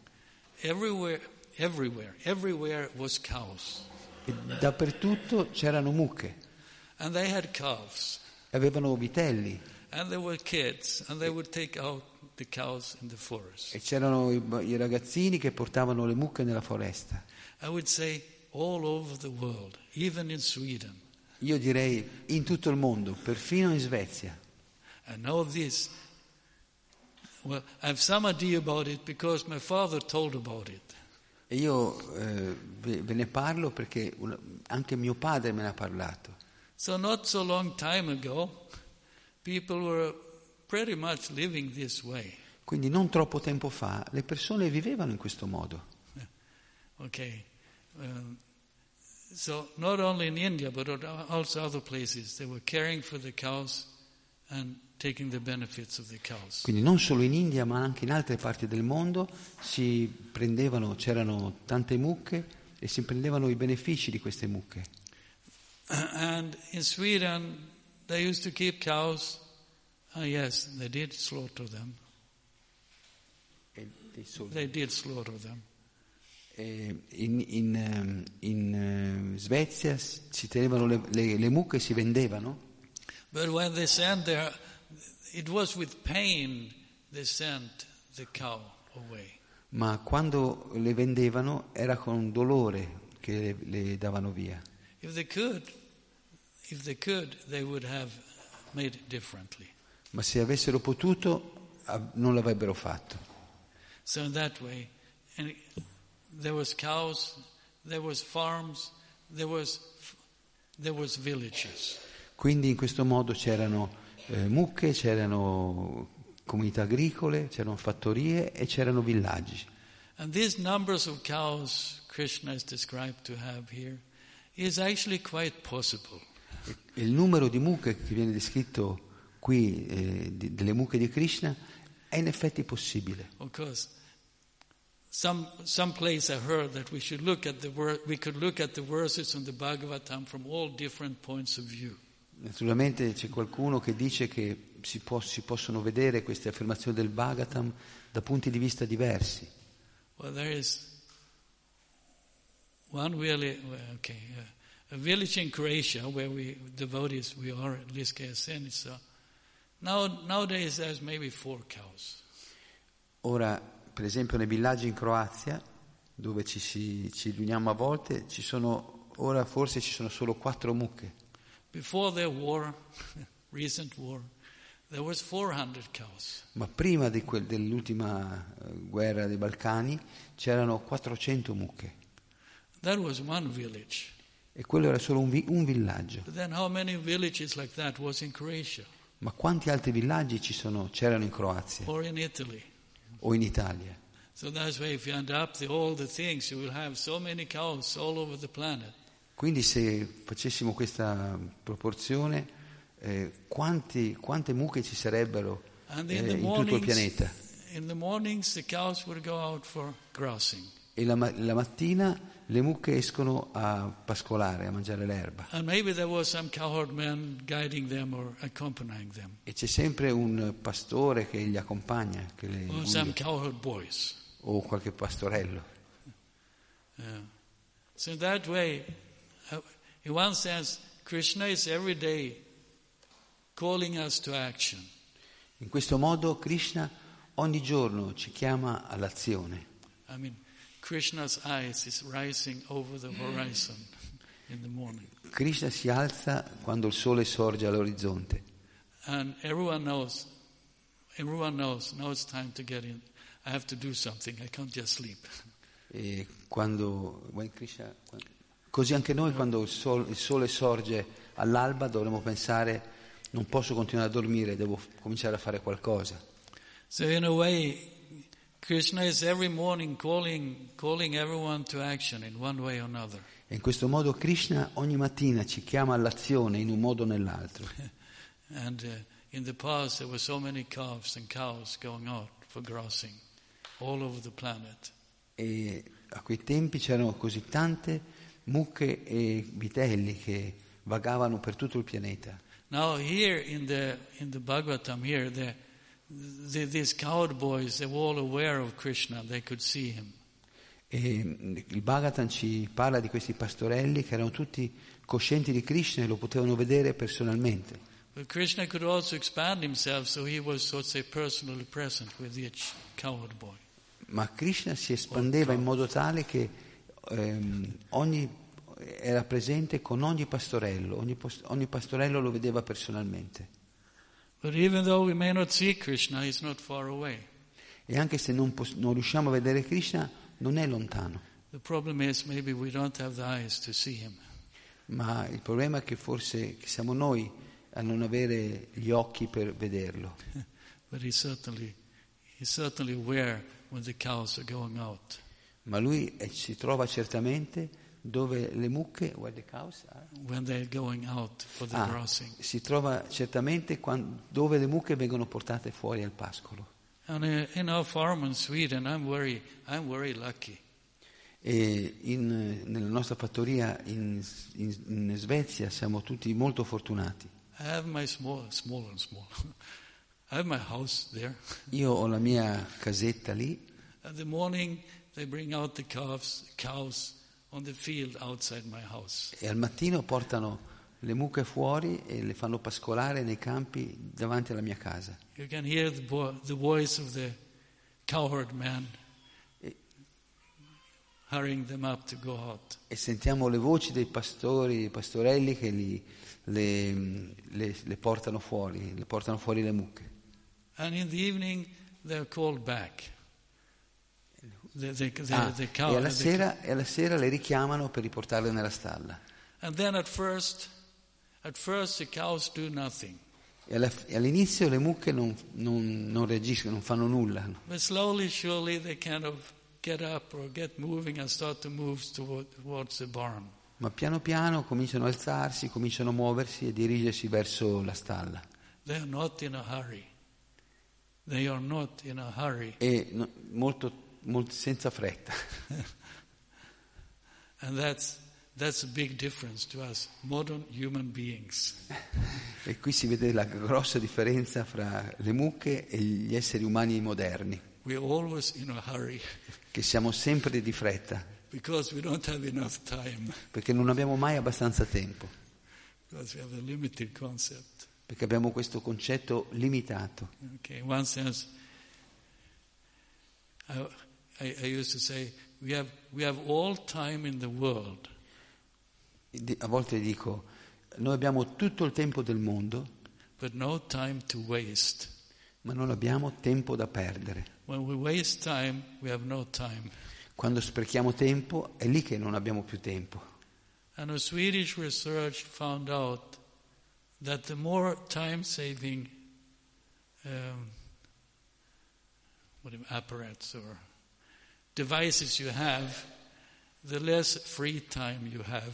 Everywhere was cows. E dappertutto c'erano mucche. And they had calves. Avevano vitelli. And there were kids, and they would take out the cows in the forest. E c'erano i ragazzini che portavano le mucche nella foresta. I would say all over the world, even in Sweden. Io direi in tutto il mondo, perfino in Svezia. I know this. Well, I have some idea about it because my father told about it. E io ve ne parlo perché anche mio padre me ne ha parlato. So not so long time ago, people were pretty much living this way. Quindi non troppo tempo fa le persone vivevano in questo modo. Okay. So not only in India but also other places they were caring for the cows and taking the benefits of the cows. Quindi non solo in India ma anche in altre parti del mondo c'erano tante mucche e si prendevano i benefici di queste mucche. And in Sweden they used to keep cows. Yes, they did slaughter them. They did slaughter them. In Svezia si tenevano le mucche e si vendevano. But when they sent there, it was with pain they sent the cow away. Ma quando le vendevano era con dolore che le davano via. If they could, they would have made it differently. Ma se avessero potuto, non l'avrebbero fatto. So in that way, and there was cows, there was farms, there was villages. Quindi in questo modo c'erano mucche, c'erano comunità agricole, c'erano fattorie e c'erano villaggi. And these numbers of cows Krishna is described to have here is actually quite possible. Il numero di mucche che viene descritto qui, delle mucche di Krishna, è in effetti possibile. Of course, some place I heard that we could look at the verses in the Bhagavatam from all different points of view. Naturalmente c'è qualcuno che dice che si possono vedere queste affermazioni del Bhagavatam da punti di vista diversi. Well, there is one really, a village in Croatia where we devotees, we are at Liska Senica. Nowadays there's maybe 4 cows. Ora, per esempio, nei villaggi in Croazia, dove ci riuniamo a volte, ora forse ci sono solo 4 mucche. Before the war, recent war, there was 400 cows. Ma prima dell'ultima guerra dei Balcani c'erano 400 mucche. That was one village. E quello era solo un villaggio. But then how many villages like that was in Croatia? Ma quanti altri villaggi c'erano in Croazia Or in Italy? o in Italia? So that's why if you add up all the things, you will have so many cows all over the planet. Quindi se facessimo questa proporzione, quante mucche ci sarebbero in tutto il pianeta? In the mornings the cows would go out for grassing. E la mattina le mucche escono a pascolare, a mangiare l'erba. And maybe there was some cowherd man guiding them or accompanying them. E c'è sempre un pastore che li accompagna, che le Or some cowherd boys. o qualche pastorello. Yeah. So in that way, in one sense, Krishna is every day calling us to action. In questo modo Krishna ogni giorno ci chiama all'azione. I mean, Krishna's eyes is rising over the horizon in the morning. Krishna si alza quando il sole sorge all'orizzonte. And everyone knows, now it's time to get in. I have to do something, I can't just sleep. E così anche noi quando il sole sorge all'alba dovremmo pensare non posso continuare a dormire, devo cominciare a fare qualcosa. So in a way, Krishna is every morning calling everyone to action in one way or another. E in questo modo Krishna ogni mattina ci chiama all'azione in un modo o nell'altro. And in the past there were so many calves and cows going out for grassing all over the planet. E a quei tempi c'erano così tante mucche e vitelli che vagavano per tutto il pianeta. Now here in the Bhagavatam here, these cowherd boys, they were all aware of Krishna, they could see him. E il Bhagavatam ci parla di questi pastorelli che erano tutti coscienti di Krishna e lo potevano vedere personalmente. But Krishna could also expand himself, so he was, so to say, personally present with each cowherd boy. Ma Krishna si espandeva in modo tale che era presente con ogni pastorello, ogni pastorello lo vedeva personalmente. But even though we may not see Krishna, he's not far away. E anche se non riusciamo a vedere Krishna, non è lontano. The problem is maybe we don't have the eyes to see him. Ma il problema è che forse siamo noi a non avere gli occhi per vederlo. But he's certainly aware when the cows are going out. Ma lui si trova certamente dove le mucche, where the cows are? When they're going out for the grassing. Si trova certamente dove le mucche vengono portate fuori al pascolo. And in our farm in Sweden, I'm very lucky. E nella nostra fattoria in Svezia siamo tutti molto fortunati. I have my small. I have my house there. Io ho la mia casetta lì. At the morning they bring out the cows on the field outside my house. E al mattino portano le mucche fuori e le fanno pascolare nei campi davanti alla mia casa. You can hear the voice of the cowherd man hurrying them up to go out. E sentiamo le voci dei pastorelli che le portano fuori le mucche. And in the evening they're called back. The cow, e alla sera le richiamano per riportarle nella stalla. And then at first the cows do nothing. E all'inizio le mucche non reagiscono, non fanno nulla. But slowly, surely they kind of get up or get moving and start to move towards the barn. Ma piano piano cominciano a alzarsi, cominciano a muoversi e dirigersi verso la stalla. They are not in a hurry. They are not in a hurry. E molto senza fretta. And that's a big difference to us modern human beings. E qui si vede la grossa differenza fra le mucche e gli esseri umani moderni. We are always in a hurry. Che siamo sempre di fretta. Because we don't have enough time. Perché non abbiamo mai abbastanza tempo. Because we have a limited concept. Perché abbiamo questo concetto limitato. Okay, in one sense, I used to say, we have all time in the world. A volte dico, noi abbiamo tutto il tempo del mondo, but no time to waste. Ma non abbiamo tempo da perdere. When we waste time, we have no time. Quando sprechiamo tempo, è lì che non abbiamo più tempo. And a Swedish research found out that the more time-saving apparatus or devices you have, the less free time you have.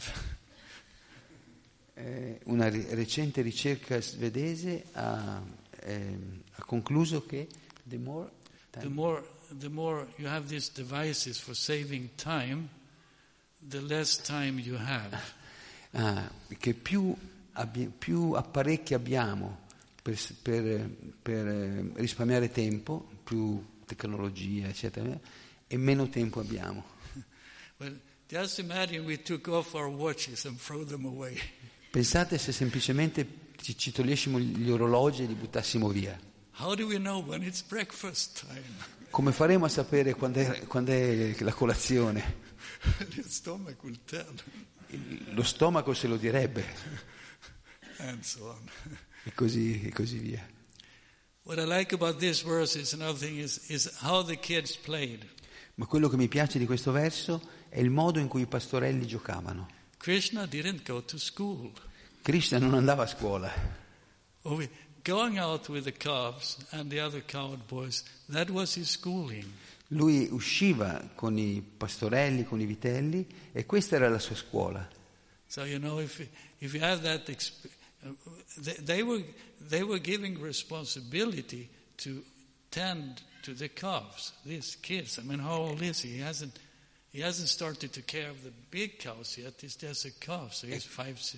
Una recente ricerca svedese ha concluso che the more you have these devices for saving time, the less time you have. Che più apparecchi abbiamo per risparmiare tempo, più tecnologia, eccetera, e meno tempo abbiamo. Well, just imagine we took off our watches and throw them away. Pensate se semplicemente ci togliessimo gli orologi e li buttassimo via. How do we know when it's breakfast time? Come faremo a sapere quando è la colazione? The stomach will tell. Lo stomaco se lo direbbe. And so on. E così via. What I like about this verse is another thing is how the kids played. Ma quello che mi piace di questo verso è il modo in cui i pastorelli giocavano. Krishna didn't go to school. Krishna non andava a scuola. Going out with the calves and the other cowherd boys, that was his schooling. Lui usciva con i pastorelli, con i vitelli, e questa era la sua scuola. So if you have that they were giving responsibility to tend to the calves. These kids, I mean, how old is he? He hasn't started to care of the big cows yet. He's just a calf, so he's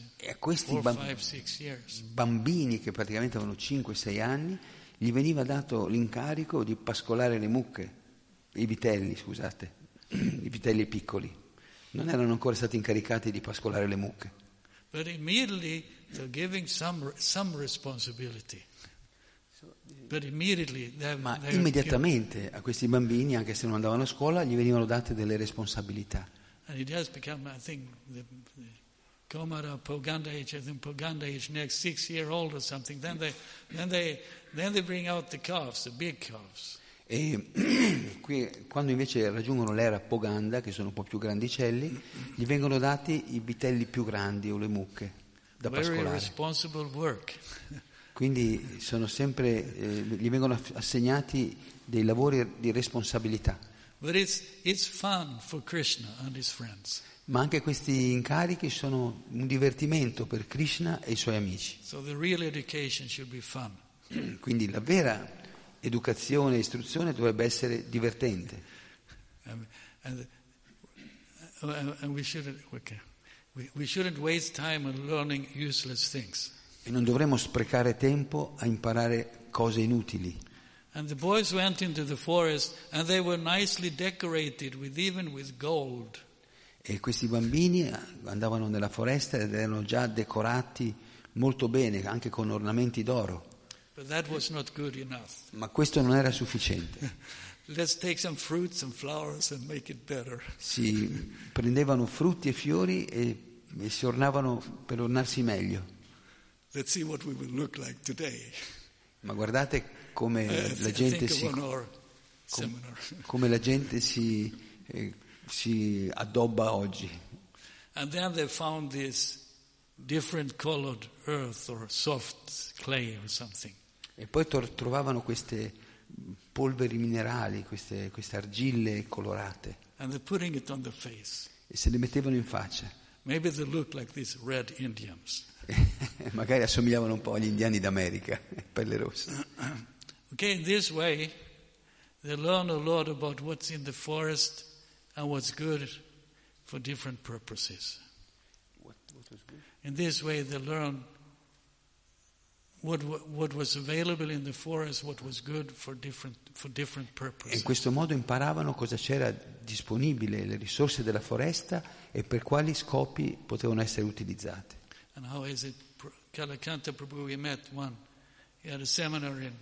5-6 years. Bambini che praticamente avevano 5-6 anni, gli veniva dato l'incarico di pascolare le mucche, i vitelli piccoli. Non erano ancora stati incaricati di pascolare le mucche. But immediately they're giving some responsibility. Ma immediatamente a questi bambini, anche se non andavano a scuola, gli venivano date delle responsabilità. And it has become, I think, the Komara Poganda age, I think Poganda age next 6 year old or something. Then they bring out the calves, the big calves. E qui, quando invece raggiungono l'era Poganda, che sono un po' più grandicelli, gli vengono dati i vitelli più grandi o le mucche da pascolare. Very responsible work. Quindi sono sempre, gli vengono assegnati dei lavori di responsabilità. But it's fun for Krishna and his friends. Ma anche questi incarichi sono un divertimento per Krishna e i suoi amici. So the real education should be fun. Quindi la vera educazione e istruzione dovrebbe essere divertente. And we shouldn't waste time on learning useless things. E non dovremmo sprecare tempo a imparare cose inutili. And the boys went into the forest and they were nicely decorated even with gold. E questi bambini andavano nella foresta ed erano già decorati molto bene, anche con ornamenti d'oro. But that was not good enough. Ma questo non era sufficiente. Let's take some fruits and flowers and make it better. Si prendevano frutti e fiori e si ornavano per ornarsi meglio. Let's see what we will look like today. Ma guardate come la gente si addobba oggi. And then they found this different colored earth or soft clay or something. E poi trovavano queste polveri minerali, queste argille colorate. And they're putting it on the face. E se le mettevano in faccia. Maybe they look like these red Indians. Magari assomigliavano un po' agli indiani d'America, pelle rossa. Okay, in this way, they learn a lot about what's in the forest and what's good for different purposes. What was good? In this way, they learn what was available in the forest, what was good for different purposes. E in questo modo imparavano cosa c'era disponibile, le risorse della foresta e per quali scopi potevano essere utilizzate. And how is it? Kalakanta Prabhu, we met one. He had a seminar in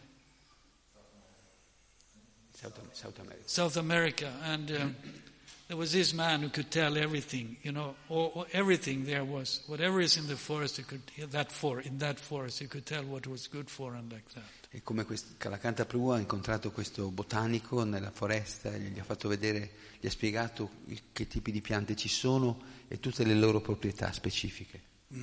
South America, and there was this man who could tell everything. You know, everything there was, whatever is in the forest, in that forest, you could tell what was good for and like that. E come Kalakanta Prabhu ha incontrato questo botanico nella foresta, gli ha fatto vedere, gli ha spiegato che tipi di piante ci sono e tutte le loro proprietà specifiche.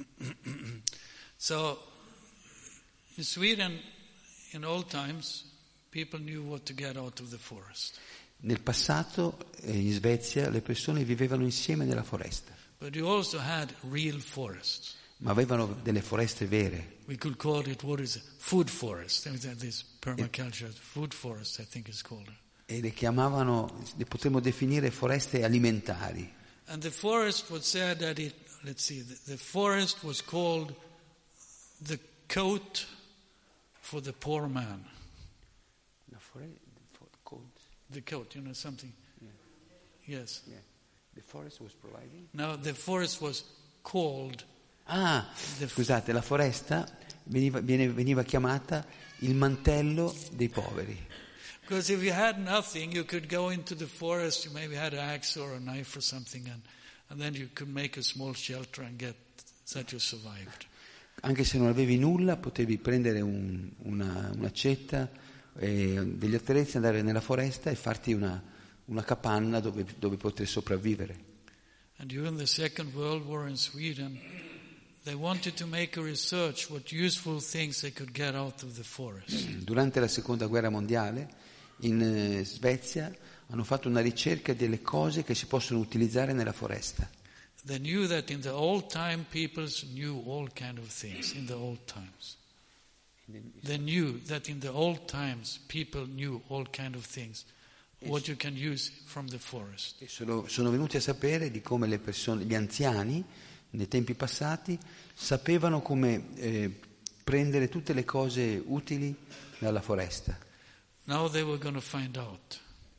So, in Sweden, in old times, people knew what to get out of the forest. Nel passato, in Svezia, le persone vivevano insieme nella foresta. But you also had real forests. Ma avevano delle foreste vere. We could call it, what is it? Food forest. This permaculture, food forest, I think is called. E le potremmo definire foreste alimentari. And the forest was said that the forest was called the coat for the poor man. The coat, you know, something. Yeah. Yes. Yeah. The forest was providing. Now the forest was called. Scusate, la foresta veniva chiamata il mantello dei poveri. Because if you had nothing, you could go into the forest. You maybe had an axe or a knife or something, and then you could make a small shelter and get that you survived. Anche se non avevi nulla, potevi prendere un'accetta e degli attrezzi, andare nella foresta e farti una capanna dove poter sopravvivere. And during the Second World War in Sweden, they wanted to make a research what useful things they could get out of the forest. Durante la Seconda Guerra Mondiale in Svezia hanno fatto una ricerca delle cose che si possono utilizzare nella foresta. They knew that in the old time people knew all kind of things in the old times. They knew that in the old times people knew all kind of things, what you can use from the forest. E sono venuti a sapere di come le persone, gli anziani, nei tempi passati, sapevano come prendere tutte le cose utili dalla foresta. Now they were going to find out.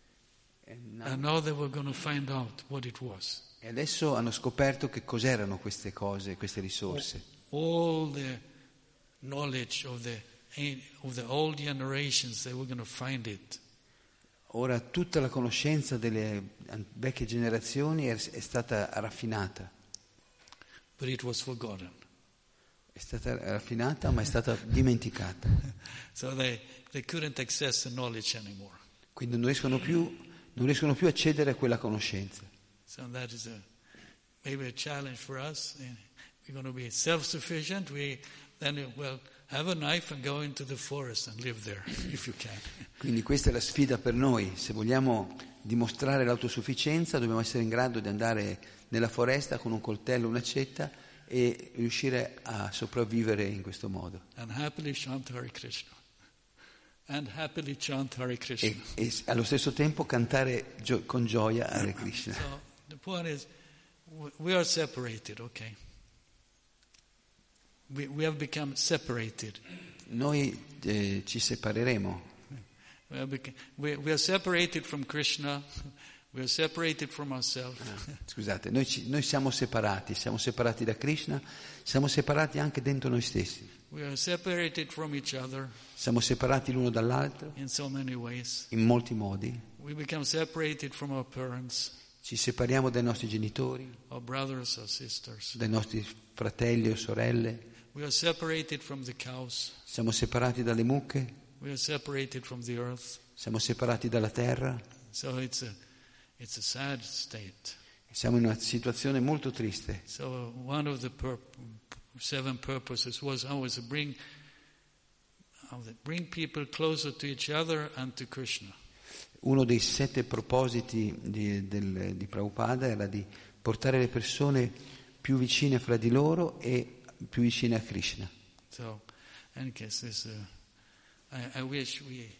And now they were going to find out what it was. E adesso hanno scoperto che cos'erano queste cose, queste risorse. All the knowledge of the old generations, they were going to find it. Ora tutta la conoscenza delle vecchie generazioni è stata raffinata. But it was forgotten. È stata raffinata, ma è stata dimenticata. So they couldn't access the knowledge anymore. Quindi non riescono più a accedere a quella conoscenza. So that is maybe a challenge for us. We're going to be self-sufficient. Then have a knife and go into the forest and live there, if you can. Quindi questa è la sfida per noi. Se vogliamo dimostrare l'autosufficienza, dobbiamo essere in grado di andare nella foresta con un coltello, un'accetta e riuscire a sopravvivere in questo modo. And happily chant Hare Krishna. And happily chant Hare Krishna. E allo stesso tempo cantare con gioia Hare Krishna. So the point is, we are separated, okay? We have become separated. Noi ci separeremo. We are separated from Krishna, we are separated from ourselves. Scusate, noi siamo separati da Krishna, siamo separati anche dentro noi stessi. We are separated from each other Siamo separati l'uno dall'altro in so many ways. in molti modi. We become separated from our parents, Ci separiamo dai nostri genitori, our brothers, our sisters. dai nostri fratelli o sorelle, We are separated from the cows. siamo separati dalle mucche, We are separated from the earth. siamo separati dalla terra, So it's a sad state. siamo in una situazione molto triste. So one of the 7 purposes was always to bring people closer to each other and to Krishna. Uno dei 7 propositi di Prabhupada era di portare le persone più vicine fra di loro e più vicine a Krishna. So, in case I wish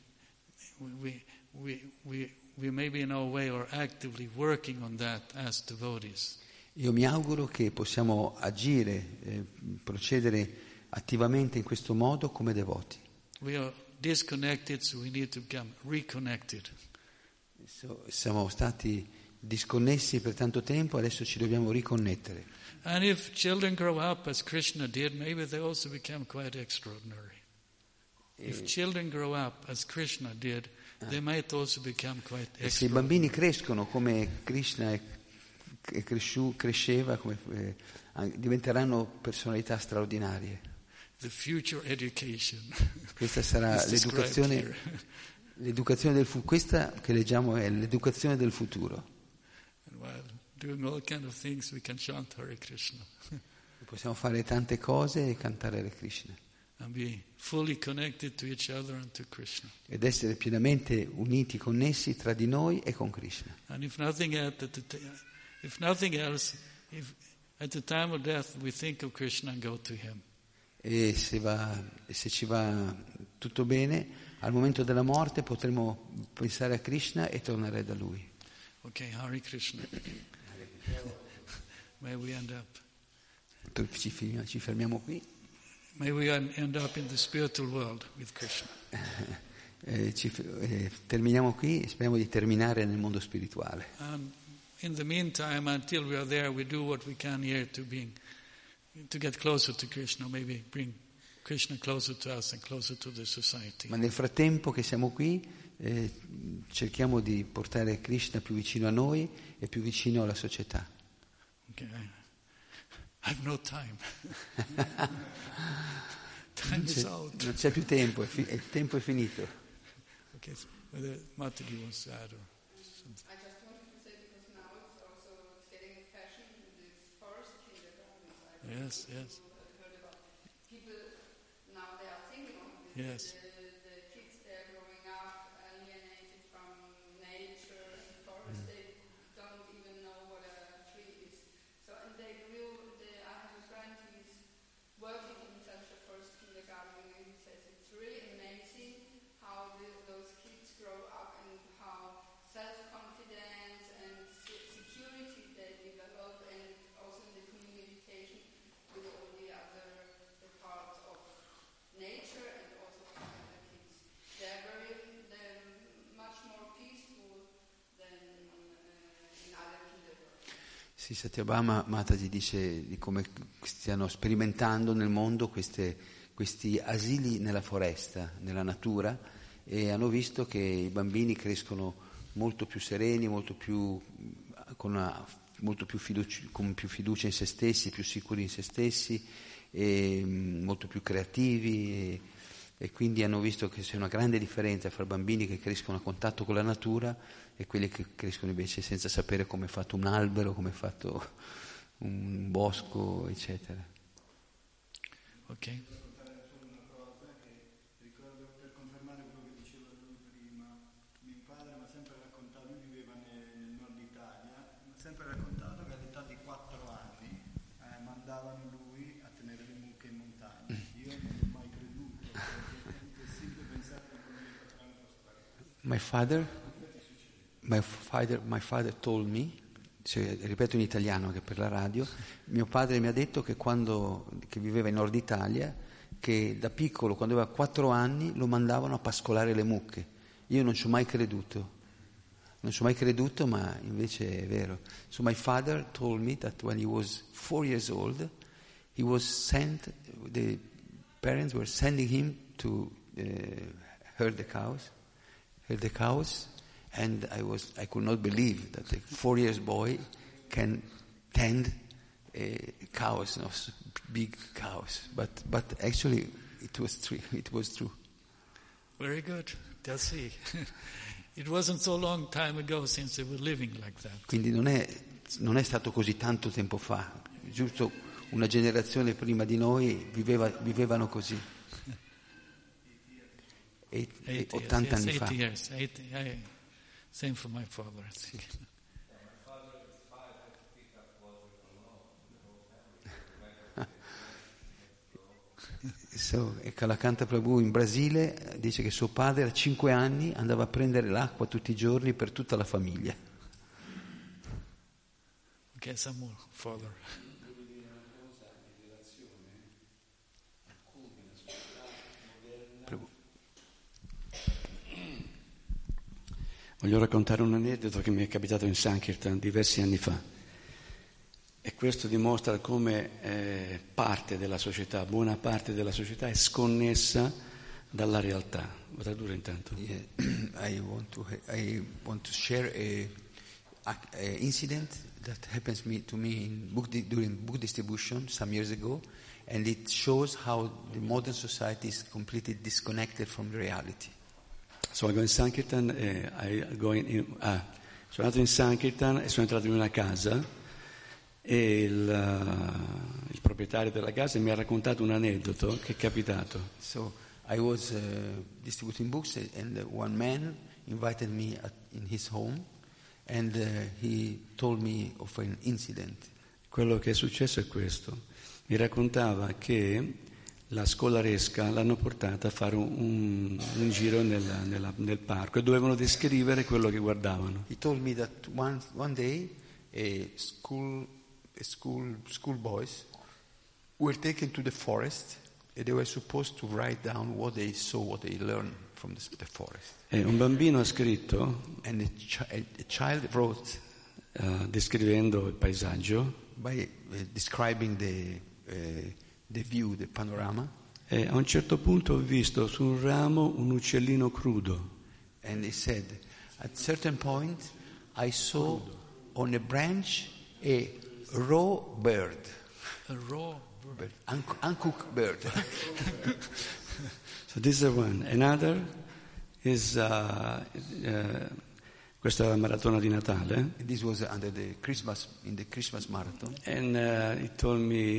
we maybe in our way are actively working on that as devotees. Io mi auguro che possiamo agire, procedere attivamente in questo modo come devoti. We are disconnected, so we need to become reconnected. Siamo stati disconnessi per tanto tempo, adesso ci dobbiamo riconnettere. And if children grow up as Krishna did, maybe they also become quite extraordinary. If children grow up as Krishna did, they might also become quite E se i extraordinary. bambini crescono come Krishna cresceva, diventeranno personalità straordinarie. The future education. Questa sarà is described here. l'educazione questa che leggiamo è l'educazione del futuro. And while doing all kind of things, we can chant Hare Krishna Possiamo fare tante cose e cantare Hare Krishna and be fully connected to each other and to Krishna. ed essere pienamente uniti, connessi tra di noi e con Krishna. And if nothing else, if at the time of death we think of Krishna and go to Him. E se ci va tutto bene, al momento della morte potremo pensare a Krishna e tornare da Lui. Okay, Hare Krishna. May we end up. Ci fermiamo qui. May we end up in the spiritual world with Krishna. Terminiamo qui e speriamo di terminare nel mondo spirituale. And in the meantime, until we are there, we do what we can here to get closer to Krishna, maybe bring Krishna closer to us and closer to the society. Ma nel frattempo che siamo qui, cerchiamo di portare Krishna più vicino a noi e più vicino alla società. Okay, I have no time. Time is out. Non c'è più tempo, il tempo è finito. Okay, so whether Mataji wants to add or something. I just wanted to say, because now it's getting a fashion in this forest kindergarten. Yes, yes. Heard about people now they are thinking of this. Yes. The kids they're growing up alienated from nature and forest. They don't even know what a tree is. So and I have a friend who's working in such a first kindergarten, and he says it's really amazing how those kids grow up and how self-confidence and security they develop, and also in the communication with all the other parts of nature and also from the kids. They're much more peaceful than in other kindergarten. Sì, Satyabhama Mataji dice di come stiano sperimentando nel mondo questi asili nella foresta, nella natura, e hanno visto che i bambini crescono molto più sereni, con più fiducia in se stessi, più sicuri in se stessi, e molto più creativi, e quindi hanno visto che c'è una grande differenza fra bambini che crescono a contatto con la natura e quelli che crescono invece senza sapere come è fatto un albero, come è fatto un bosco, eccetera. Ok. Una cosa che ricordo, per confermare quello che diceva lui prima, mio padre mi ha sempre raccontato, lui viveva nel nord Italia, mi ha sempre raccontato che all'età di 4 anni mandavano lui a tenere le mucche in montagna. Io non ho mai creduto, perché è impossibile pensare che con 4 anni possa fare questo. My father told me, cioè, ripeto in italiano che per la radio, mio padre mi ha detto che che viveva in Nord Italia, che da piccolo, quando aveva 4 anni, lo mandavano a pascolare le mucche, Io non ci ho mai creduto. Non ci ho mai creduto, ma invece è vero. So my father told me that when he was 4 years old, he was sent, the parents were sending him to herd the cows, and I could not believe that a 4 years boy can tend cows, big cows. But actually it was true. Very good. That's see. It wasn't so long time ago since they were living like that. Quindi non è stato così tanto tempo fa, giusto una generazione prima di noi vivevano così. 80 anni fa. 80 years. Same for my father. Sì. E Kalakanta Prabhu in Brasile dice che suo padre a 5 anni andava a prendere l'acqua tutti i giorni per tutta la famiglia. Okay, some more further. Voglio raccontare un aneddoto che mi è capitato in Sankirtan diversi anni fa. E questo dimostra come parte della società, buona parte della società è sconnessa dalla realtà. Lo tradurre intanto. Yeah. I want to share a incident that happens to me during book distribution some years ago, and it shows how the modern society is completely disconnected from reality. So I go in Sankirtan, sono andato in Sankirtan e sono entrato in una casa. E il proprietario della casa mi ha raccontato un aneddoto che è capitato. So I was distributing books and one man invited me in his home and he told me of an incident. Quello che è successo è questo. Mi raccontava che la scolaresca l'hanno portata a fare un giro nel parco e dovevano descrivere quello che guardavano. He told me that one day school boys were taken to the forest and they were supposed to write down what they saw, what they learned from the forest. E un bambino ha scritto, and a child wrote, descrivendo il paesaggio, by describing the view, the panorama. E a un certo punto ho visto su un ramo un uccellino crudo. And he said, at a certain point I saw on a branch a raw bird. A raw bird. Uncooked bird. So this is one. Another is questa è la maratona di Natale. This was under the Christmas marathon. And he told me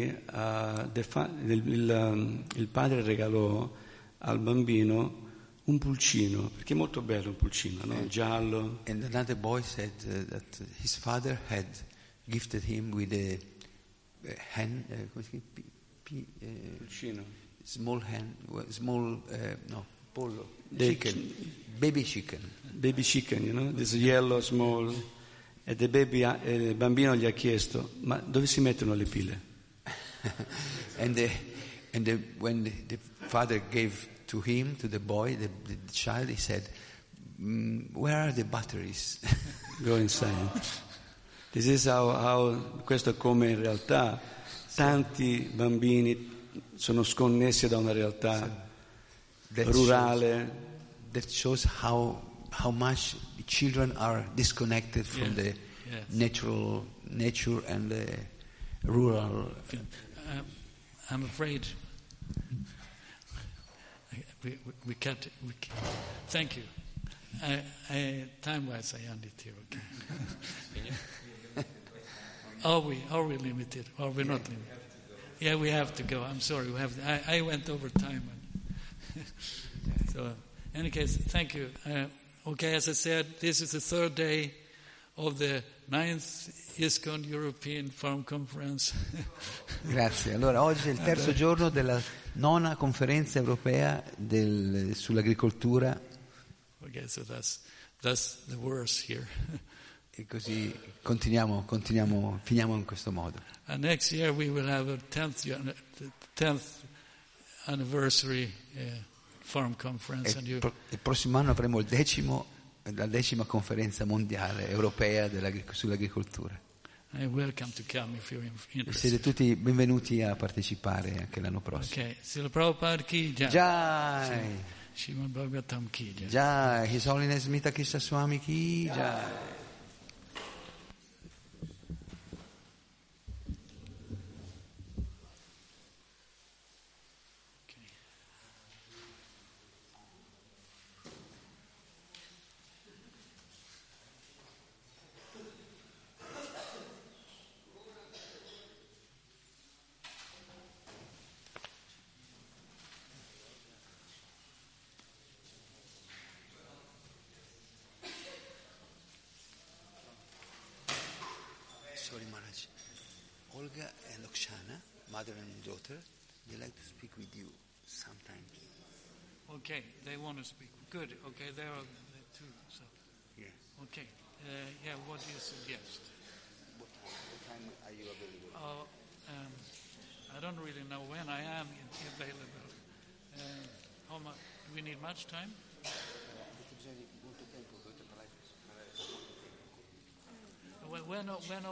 il padre regalò al bambino un pulcino, perché è molto bello un pulcino, no? Giallo. And another boy said that his father had gifted him with a hen, Pulcino. small hen, pollo, chicken, baby chicken. Baby chicken, you know, this yellow, small. E il bambino gli ha chiesto, ma dove si mettono le pile? When the father gave to him, to the boy, the child, he said, where are the batteries? Go inside. This is how questo è come in realtà tanti bambini sono sconnessi da una realtà rurale. That shows how much children are disconnected from the nature and the rural. I'm afraid we can't. Thank you. Time-wise, I end it here. Okay. Are we limited? Are we not limited? Yeah, we have to go. I'm sorry. We have. I went over time. So, in any case, thank you. Okay, as I said, this is the third day of the 9th ISKCON European Farm Conference. Grazie. Allora, oggi è il terzo giorno della 9ª conferenza europea sull'agricoltura. Okay, so that's the verse here. E così finiamo in questo modo. And next year we will have a 10th anniversary Forum Conference. And il prossimo anno avremo la 10ª conferenza mondiale europea sull'agricoltura. Welcome to come if you're Siete interested. tutti benvenuti a partecipare anche l'anno prossimo. Okay, Srila Prabhupada ki jai. Jai! Srimad Bhagavatam ki jai. Jai! His Holiness Smita Krishna Swami ki jai! Sorry, Maharaj. Olga and Okshana, mother and daughter, they like to speak with you sometimes. Okay, they want to speak. Good. Okay, there are two. So, Yeah. okay. Yeah, what do you suggest? What time are you available? I don't really know when I am available. How much? Do we need much time? When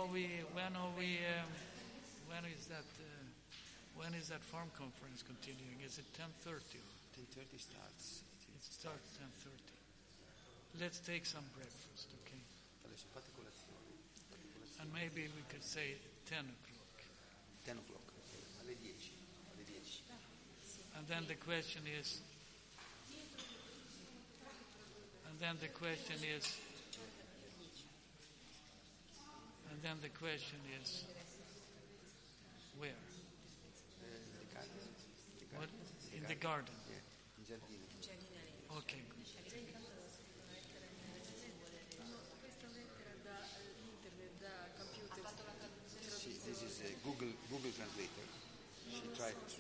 is that farm conference continuing? Is it 10:30? 10:30 starts. It starts 10:30. Let's take some breakfast, okay? Adesso fate colazione. And maybe we could say 10 o'clock. 10 o'clock. Alle 10. Alle 10. And then the question is. And then the question is. Where? What? In the garden. Yeah, in giardino. Okay, good. This is a Google Translator. She tried to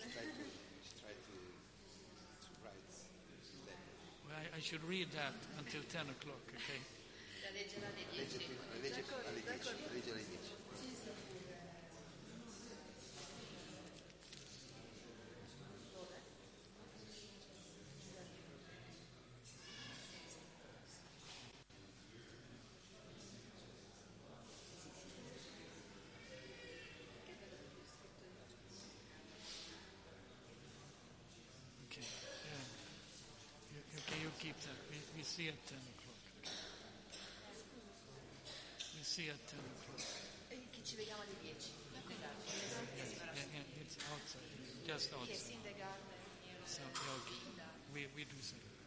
write that. Well, I should read that until 10 o'clock, okay? Legge alle 10. Okay. Okay, you keep that. We see at 10 o'clock. Okay. We see at 10 o'clock. Che ci vediamo alle 10. Yeah, it's outside, just outside. Yes, in the garden. So, okay. We do so.